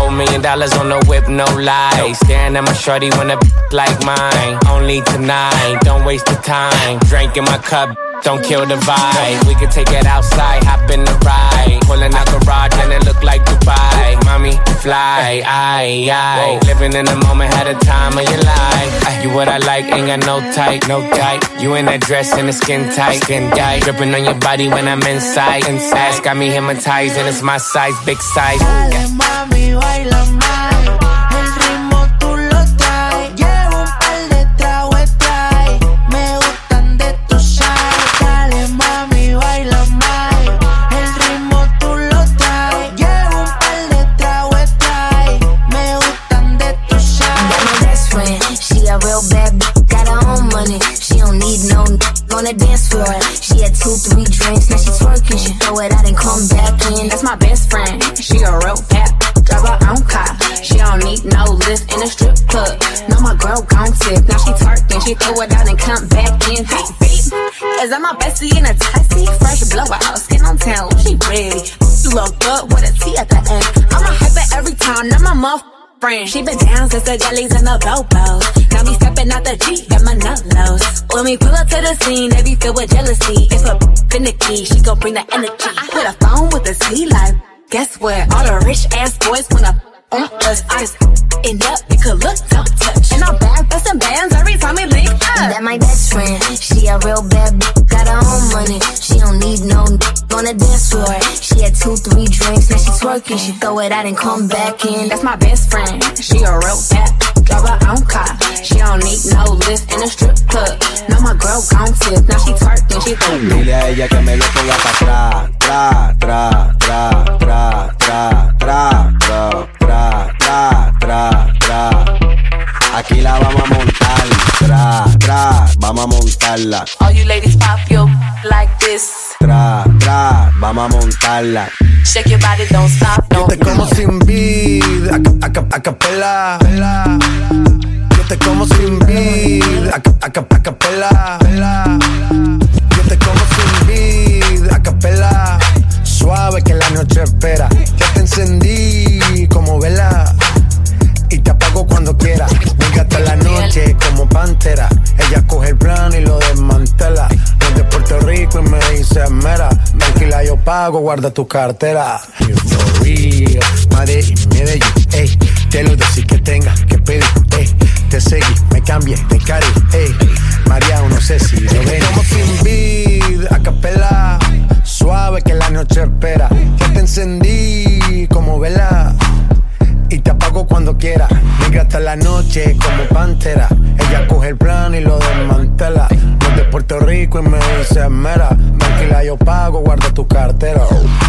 dollars on the whip, no lie. Staring at my shorty when a like mine. Only tonight, don't waste the time. Drink in my cup, don't kill the vibe. We could take it outside, hop in the ride. Pulling out garage and it look like Dubai. Mommy, fly, aye, aye. Living in the moment, had a time of your life. You what I like, ain't got no type, no type. You in that dress and the skin tight, skin tight. Dripping on your body when I'm inside, inside. Got me hypnotized and it's my size, big size. Dale, mami, baila más. El ritmo tú lo traes. Llevo un par de tragos, trae. Me gustan de tu side. Dale, mami, baila más. El ritmo tú lo traes. Llevo un par de tragos, trae. Me gustan de tu side. Got my best friend, she a real bad bitch, got her own money. She don't need no n- on the dance floor. She had two, three drinks, now she twerking. She throw it out and come back in. That's my best friend, she a real bad, drive her own car. She don't need no lift in a strip club. No, my girl gon' tip, now she twerking. She throw it out and come back in. Hey, beep, is that my bestie in a taxi? Fresh blowout, skin on town, she ready. You look good with a T at the end. I'm a hyper every time, not my muff. Friend. She been down since the jellies and the bobos. Now me stepping out the Jeep at my nullos. When we pull up to the scene, they be filled with jealousy. If a finicky, she gon' bring the energy. I hit a phone with the C like, guess what? All the rich ass boys wanna on us. I just end up, it could look, don't touch. And I'm back bustin' bands every time we link up. That my best friend, she a real bad bitch, got her own money. She don't need no n- on the dance floor. She had two, three drinks, now she twerking. She throw it out and come back in. That's my best friend, she a real bad bitch, drive her own car. She don't need no lift in a strip club. Now my girl gon' tip, now she twerking, she throw. Dile a ella que me lo ponga pa' atrás, tra, tra, tra, tra, tra, tra, tra, tra, tra, tra, tra. Aquí la vamos a montar, tra, tra, vamos a montarla. All you ladies pop your like this. Tra, tra, vamos a montarla. Shake your body, don't stop, Yo don't te como sin vid, a, ca- a, ca- a capela. Yo te como sin vid, a, ca- a, ca- a capela. Yo te como sin vid, a capela. Suave que la noche espera. Ya te encendí como vela y te apago cuando quiera. Venga hasta la noche como pantera. Ella coge el plano y lo desmantela. Los de Puerto Rico y me dice mera. Tranquila, yo pago, guarda tu cartera. You for real, Madrid, Medellín, ey. Te lo decís que tenga que pedir, ey. Te seguí, me cambié de cari, ey. María, no sé si lo ven. Como sin vid, a capela. Suave que la noche espera. Ya te encendí como vela y te apago cuando quiera. Negra hasta la noche como pantera. Ella coge el plan y lo desmantela. Los de Puerto Rico y me dice mera. Tranquila, yo pago, guarda tu cartera.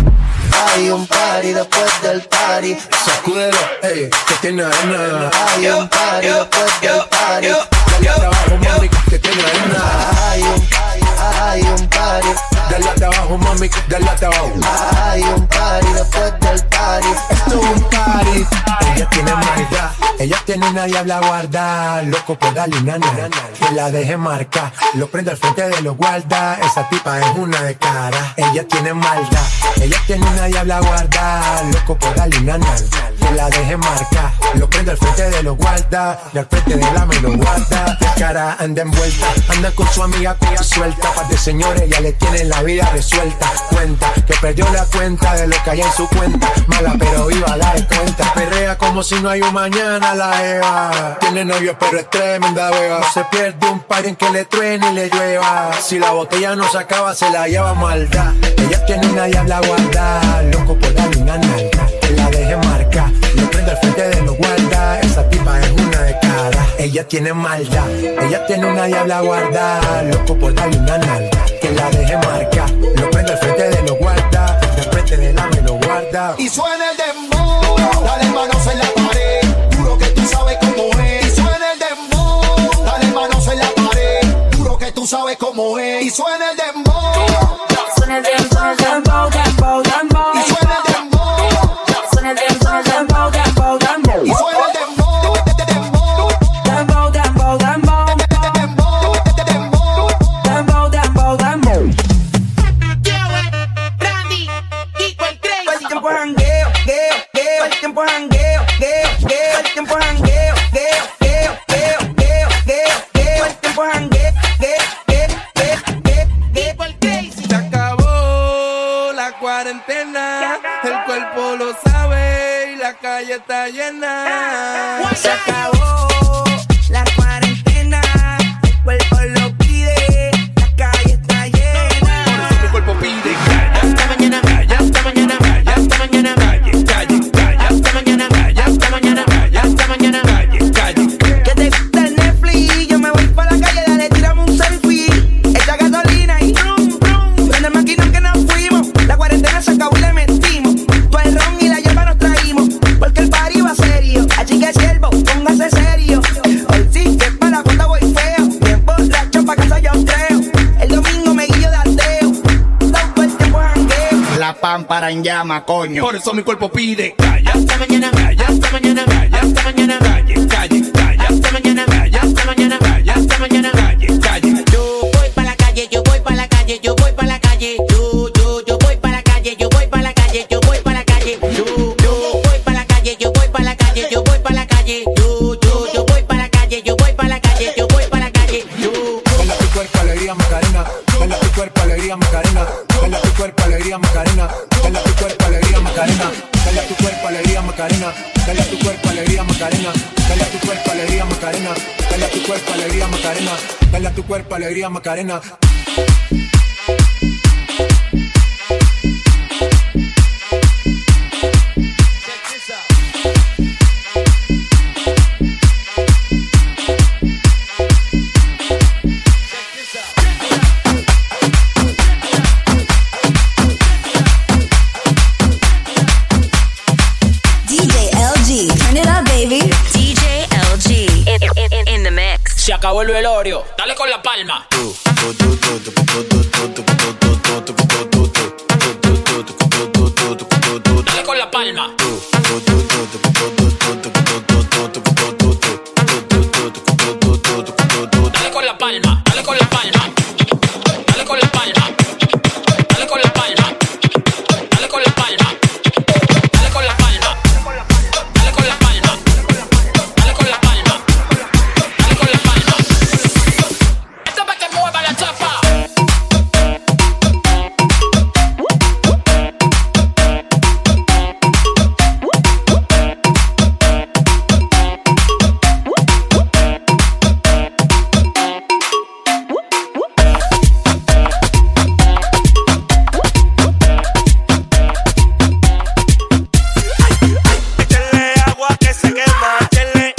Hay un party después del party. Sacúdelo, ey, que tiene arena. Hay un party después del party. Dale hasta abajo, mami, que tiene arena. Hay un, hay un party. Dale hasta abajo, mami, dale hasta abajo. Hay un party después del party. Esto es un party. Ella tiene maldad, ella tiene una diabla guarda. Loco por darle una nana, que la deje marcar. Lo prende al frente de los guarda. Esa tipa es una de cara. Ella tiene maldad, ella tiene una diabla guarda. Loco por darle una nana, que la deje marcar. Lo prende al frente de los guarda. Y al frente de la me lo guarda. La cara anda envuelta, anda con su amiga cuya suelta. Par de señores ya le tienen la vida resuelta. Cuenta que perdió la cuenta de lo que hay en su cuenta. Mala pero viva, la de cuenta. Perrea como si no hay un mañana la Eva. Tiene novio pero es tremenda beba. No se pierde un par en que le truene y le llueva. Si la botella no se acaba se la lleva maldad. Ella tiene una diabla guarda. Loco por darle una nalga, que la deje marcar. Lo prende al frente de los guarda. Esa tipa es una de cara. Ella tiene maldad, ella tiene una diabla guarda. Loco por darle una nalga, que la deje marcar. Lo prende al frente de los guarda. Al frente de la me lo guarda. Y suena el dembow, dale manos en la pared, juro que tú sabes cómo es. Y suena el dembow, dale manos en la pared, juro que tú sabes cómo es. Y suena el dembow, Suena el dembow, dembow, dembow, dembow. y suena el dembow, Suena el dembow, dembow, dembow, dembow. y suena el dembow, dembow, Dembow, dembow, dembow. Dembow, dembow, dembow. Todo el tiempo jangueo, gueo, gueo. Todo el tiempo jangueo, gueo, la calle está llena. Se acabó la cuarentena, el cuerpo lo pide, la calle está llena. Por eso mi cuerpo pide calle. Hasta mañana, calle, hasta mañana, calle, hasta mañana, calle, calle, calle, hasta mañana, calle, hasta mañana, calle, hasta mañana, calle, calle. Que te gusta el Netflix, yo me voy pa' la calle, dale, tirame un selfie. Echa gasolina y brum, brum. Prende el maquinón que nos fuimos, la cuarentena se acabó y le metimos. Todo el ron y la hierba nos traímos, porque el party va serio. Así que siervo, póngase serio. Hoy sí que para la cuenta voy feo, bien borracho pa' casa yo creo. El domingo me guillo de ateo, todo el tiempo jangueo. La pámpara en llama, coño. Por eso mi cuerpo pide calle, hasta mañana, calle, hasta mañana, calle, hasta mañana, calle, calle, calle, hasta mañana, calle, hasta mañana, calle, hasta mañana, calle, calle. Yo voy pa' la calle, yo voy pa' la calle, yo voy pa' la calle. Yo, yo, yo voy pa' la calle, yo voy pa' la calle, yo voy pa' la calle. Yo, yo voy pa' la calle, yo voy pa' la calle, yo voy pa' la calle. Yo, yo, yo voy pa' la calle, yo voy pa' la calle, yo voy pa' la calle. Yo. Baila tu cuerpo, alegría, Macarena. Baila tu cuerpo, alegría, Macarena. Baila tu cuerpo, alegría, Macarena. Baila tu cuerpo, alegría, Macarena. Baila tu cuerpo, alegría, Macarena. Baila tu cuerpo, alegría, Macarena. Baila tu cuerpo, alegría, Macarena. Baila tu cuerpo, alegría, Macarena. Baila tu cuerpo, alegría, Macarena. D J L G, turn it up, baby. D J L G, in, in, in, in the mix. Se acabó el velorio. Dale con la palma. Dale con la palma. Dale con la palma. Dale con la palma. Dale con la palma. Dale con la palma. Dale con la palma. Dale con la palma. Dale con la palma. Dale con la palma. Dale con la palma. Esto pa' que mueva la chapa. Échale agua que se quema, échale.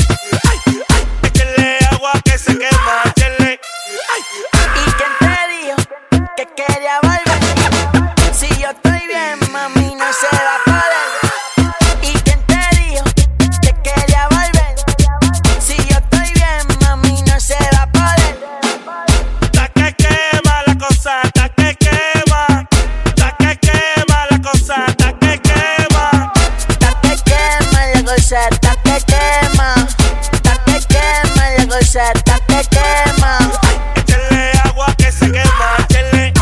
Échale agua que se quema, échale. ¿Y quién te dijo que quería volver? Si yo estoy bien, mami, no se va a poder. ¿Y quién te dijo que quería volver? Si yo estoy bien, mami, no se va a poder. Ta que quema la cosa, ta que quema. Ta que quema la cosa, ta que quema. Ta que quema la cosa, ta que quema. Ta que quema la cosa, ta que quema. Échale agua que se quema, échale.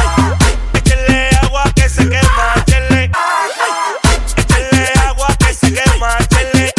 Échale agua que se quema, échale. Échale agua que se quema, échale.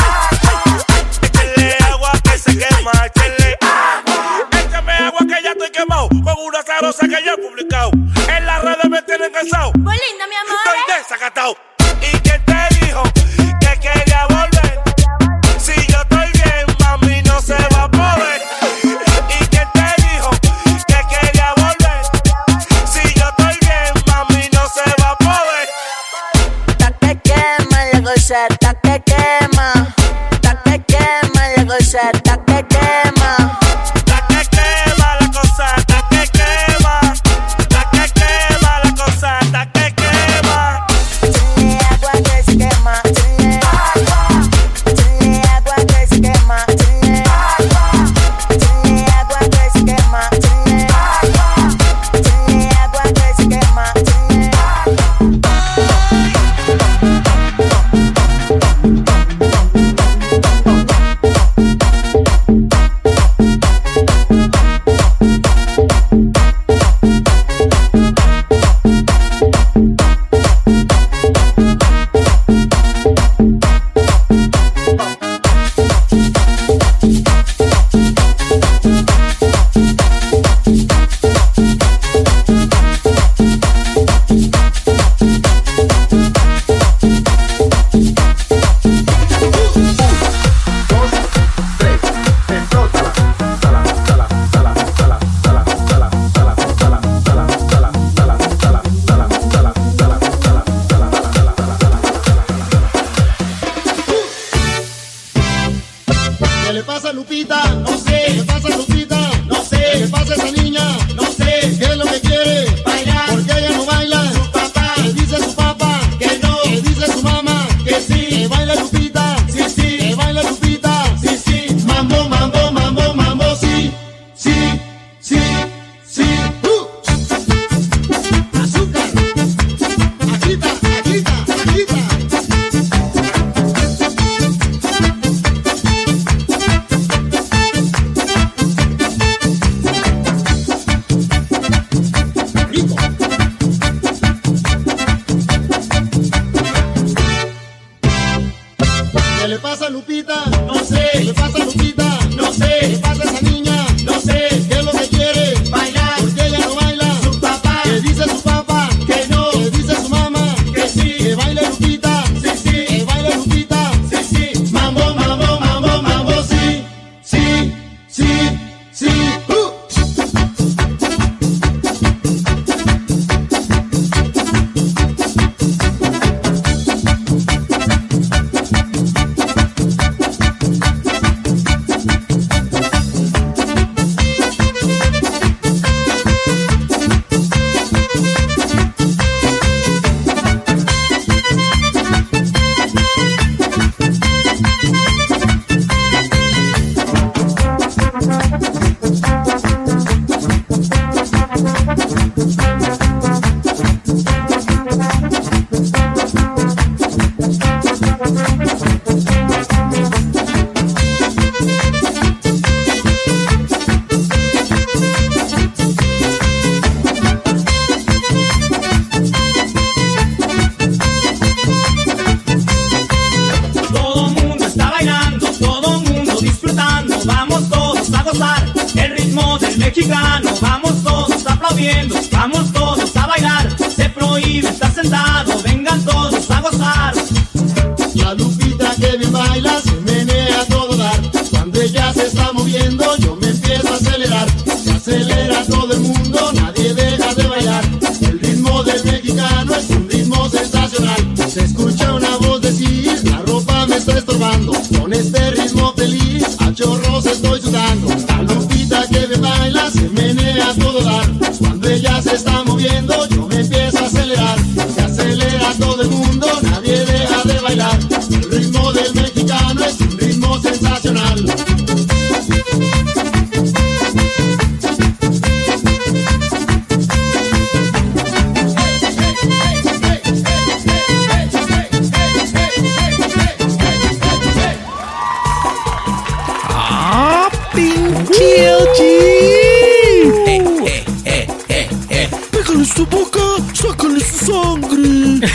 Échale agua que se quema, échale. Échame agua que ya estoy quemado con una sabrosa que ya he publicado. En las redes me tienen cansado. Muy linda, mi amor. Estoy desacatado. ¿Y quién te dijo que quería volver? Si yo estoy bien, mami, no se va a poder. ¿Y quién te dijo que quería volver? Si yo estoy bien, mami, no se va a poder. Ta que quema la cosa, ta que quema. Ta que quema la cosa, ta que quema. Ta que quema la cosa, ta que quema. Ta que quema la cosa, ta que quema. Échale agua que se quema, échale agua. Échale agua que se quema, échale agua. Échale agua que se quema, échale agua. Échale agua que se quema, échale agua. pasa Lupita? No sé. ¿Qué le pasa Lupita? No sé. ¿Qué le pasa a esa niña? No sé. ¿Qué es lo que quiere? Bailar. ¿Por qué ella no baila? Su papá. ¿Qué dice su papá? Que no. ¿Qué dice su mamá? Que sí. ¿Que baila Lupita? Sí, sí. ¿Que baila Lupita? Sí, sí. Mambo, mambo, mambo, mambo, sí. Sí, sí, sí. Uh. Azúcar. Agita, agita, agita. ¿Qué le pasa a Lupita? No sé. ¿Qué le pasa a Lupita? No sé. ¿Qué le pasa a esa niña? No sé. ¿Qué es lo que quiere? Bailar. ¿Por qué ella no baila? Su papá. ¿Qué dice su papá? Que no. ¿Qué dice su mamá? Que sí. ¿Que baile Lupita? Sí, sí. ¿Que baile Lupita? Sí, sí. Mambo, mambo, mambo, mambo, sí. Sí, sí, sí. Uh. Todo mundo está bailando, todo mundo disfrutando. Vamos todos a gozar el ritmo del mexicano. Vamos todos aplaudiendo, vamos todos a bailar. Se prohíbe estar sentado, vengan todos a gozar. La Lupita que bien baila se menea a todo dar. Cuando ella se está moviendo yo me empiezo a acelerar. Se acelera todo el mundo, nadie deja de bailar. El ritmo del mexicano es un ritmo sensacional. Se escucha una voz decir, la ropa me está estorbando. Con este ritmo feliz, a chorros estoy sudando. La Lupita que bien baila se menea a todo dar. Cuando ella se está moviendo yo me empiezo a acelerar. Se acelera todo el mundo, nadie deja de bailar. El ritmo del mexicano es un ritmo sensacional. Ah, pinche L G. Eh, eh, eh, eh, eh. Pégale su boca, sácale su sangre.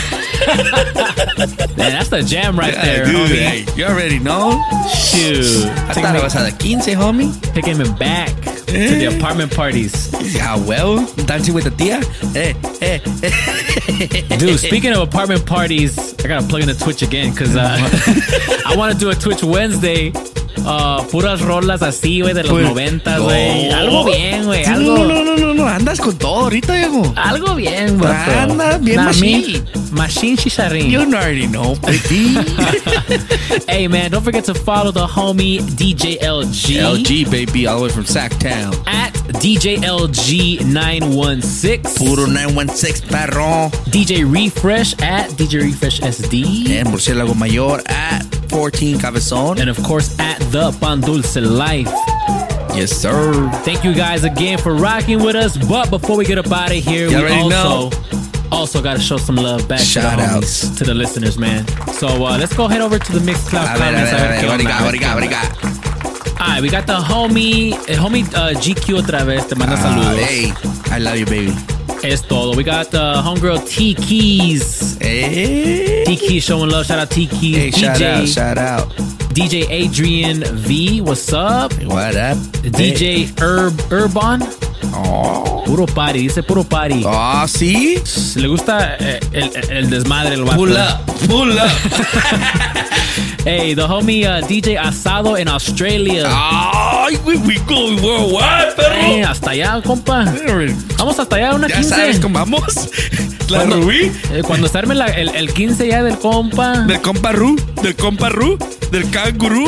Man, that's the jam right Yeah, there, dude, homie. hey, you already know. Shoot. I thought it was at the quince, homie. Taking me back to the apartment parties. Yeah, well, dancing with the tia. Eh, eh, eh. Dude, speaking of apartment parties, I gotta plug in the Twitch again because uh, I want to do a Twitch Wednesday. Uh, puras rolas así, güey, de los Pues, noventas, no. güey. Algo bien, güey. Sí, Algo, No, no, no, no, no, andas con todo ahorita, viejo. algo bien, güey. Andas bien machine. Machine chicharrín. You already know, baby. Hey, man, don't forget to follow the homie D J L G. L G, baby, all the way from Sacktown. At D J L G nine one six. Puro nine one six, perro. D J Refresh at D J Refresh S D. And Murciélago Mayor at fourteen Cabezón. And of course, at The Pan Dulce Life. Yes, sir. Thank you guys again for rocking with us. But before we get up out of here, You we already also also got to show some love back Shout to the homies, outs. to the listeners, man. So uh, let's go head over to the Mixcloud A ver, a comments. ver, a ver, qué what do you onda, got, what do you got, what do you got? All right, we got the homie, el homie uh, G Q otra vez, te manda Ah, saludos. hey, I love you, baby. Es todo. We got the homegirl T Keys. Hey. T Keys showing love. Shout out T Keys. Hey, D J, shout out, shout out. D J Adrian V, what's up? What up? D J Herb Urban. Oh. Puro party, dice puro party. Oh, ¿sí? Le gusta eh, el, el desmadre, el vato. Pull up, pull up. Hey, the homie uh, D J Asado in Australia. Ay, we, we go worldwide, perro. Eh, hasta allá, compa. Vamos hasta allá, una Ya quince. sabes cómo vamos. La Cuando- Rubí. eh, cuando se arme la- el, el quince ya del compa. Del compa Ru. Del compa Ru. del canguro.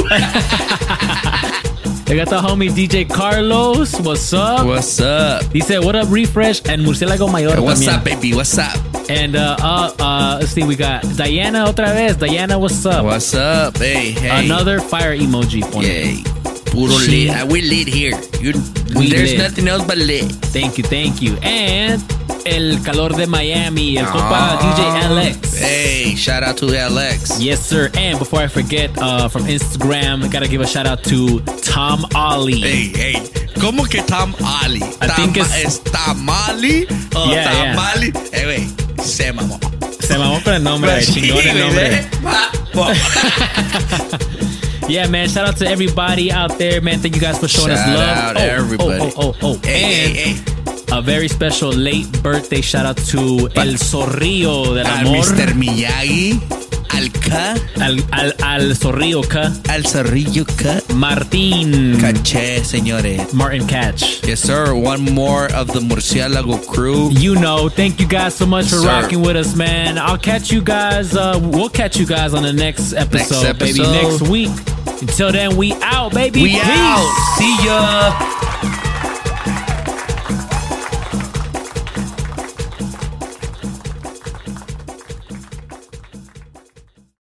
They got the homie D J Carlos. What's up? What's up? He said, what up, Refresh? And Murciélago Mayor. Hey, what's también. up, baby? What's up? And uh, uh, uh, let's see, we got Diana otra vez. Diana, what's up? What's up? Hey, hey. Another fire emoji. Yay. Puro lit. I will lit here. You, We there's lit. nothing else but lit. Thank you, thank you. And El Calor de Miami, el compa D J L X. Hey, shout out to L X. Yes, sir. And before I forget, uh, from Instagram, I gotta give a shout out to Tom Ollie. Hey, hey. ¿Cómo que Tom Ollie? I think it's- ¿Es Tamali o Yeah, yeah. Tamali? Eh, güey, se mamó. Se mamó con el nombre, Pues sí, chingón el güey, nombre. ¿eh? Va, va. Yeah, man. Shout out to everybody out there, man. Thank you guys for showing Shout us love. out oh, everybody. Oh, oh, oh, oh. Hey, and hey, hey. a very special late birthday shout out to El Zorrillo del Al Amor. mister Miyagi. Al K. Al, al, al Zorrillo K. Al Zorrillo K. Martín. Caché, señores. Martin Catch. Yes, sir. One more of the Murciélago crew. You know, thank you guys so much for Sir. rocking with us, man. I'll catch you guys. Uh, we'll catch you guys on the next episode, Next baby. episode. Next week. Until then, we out, baby. We Peace. out. See ya.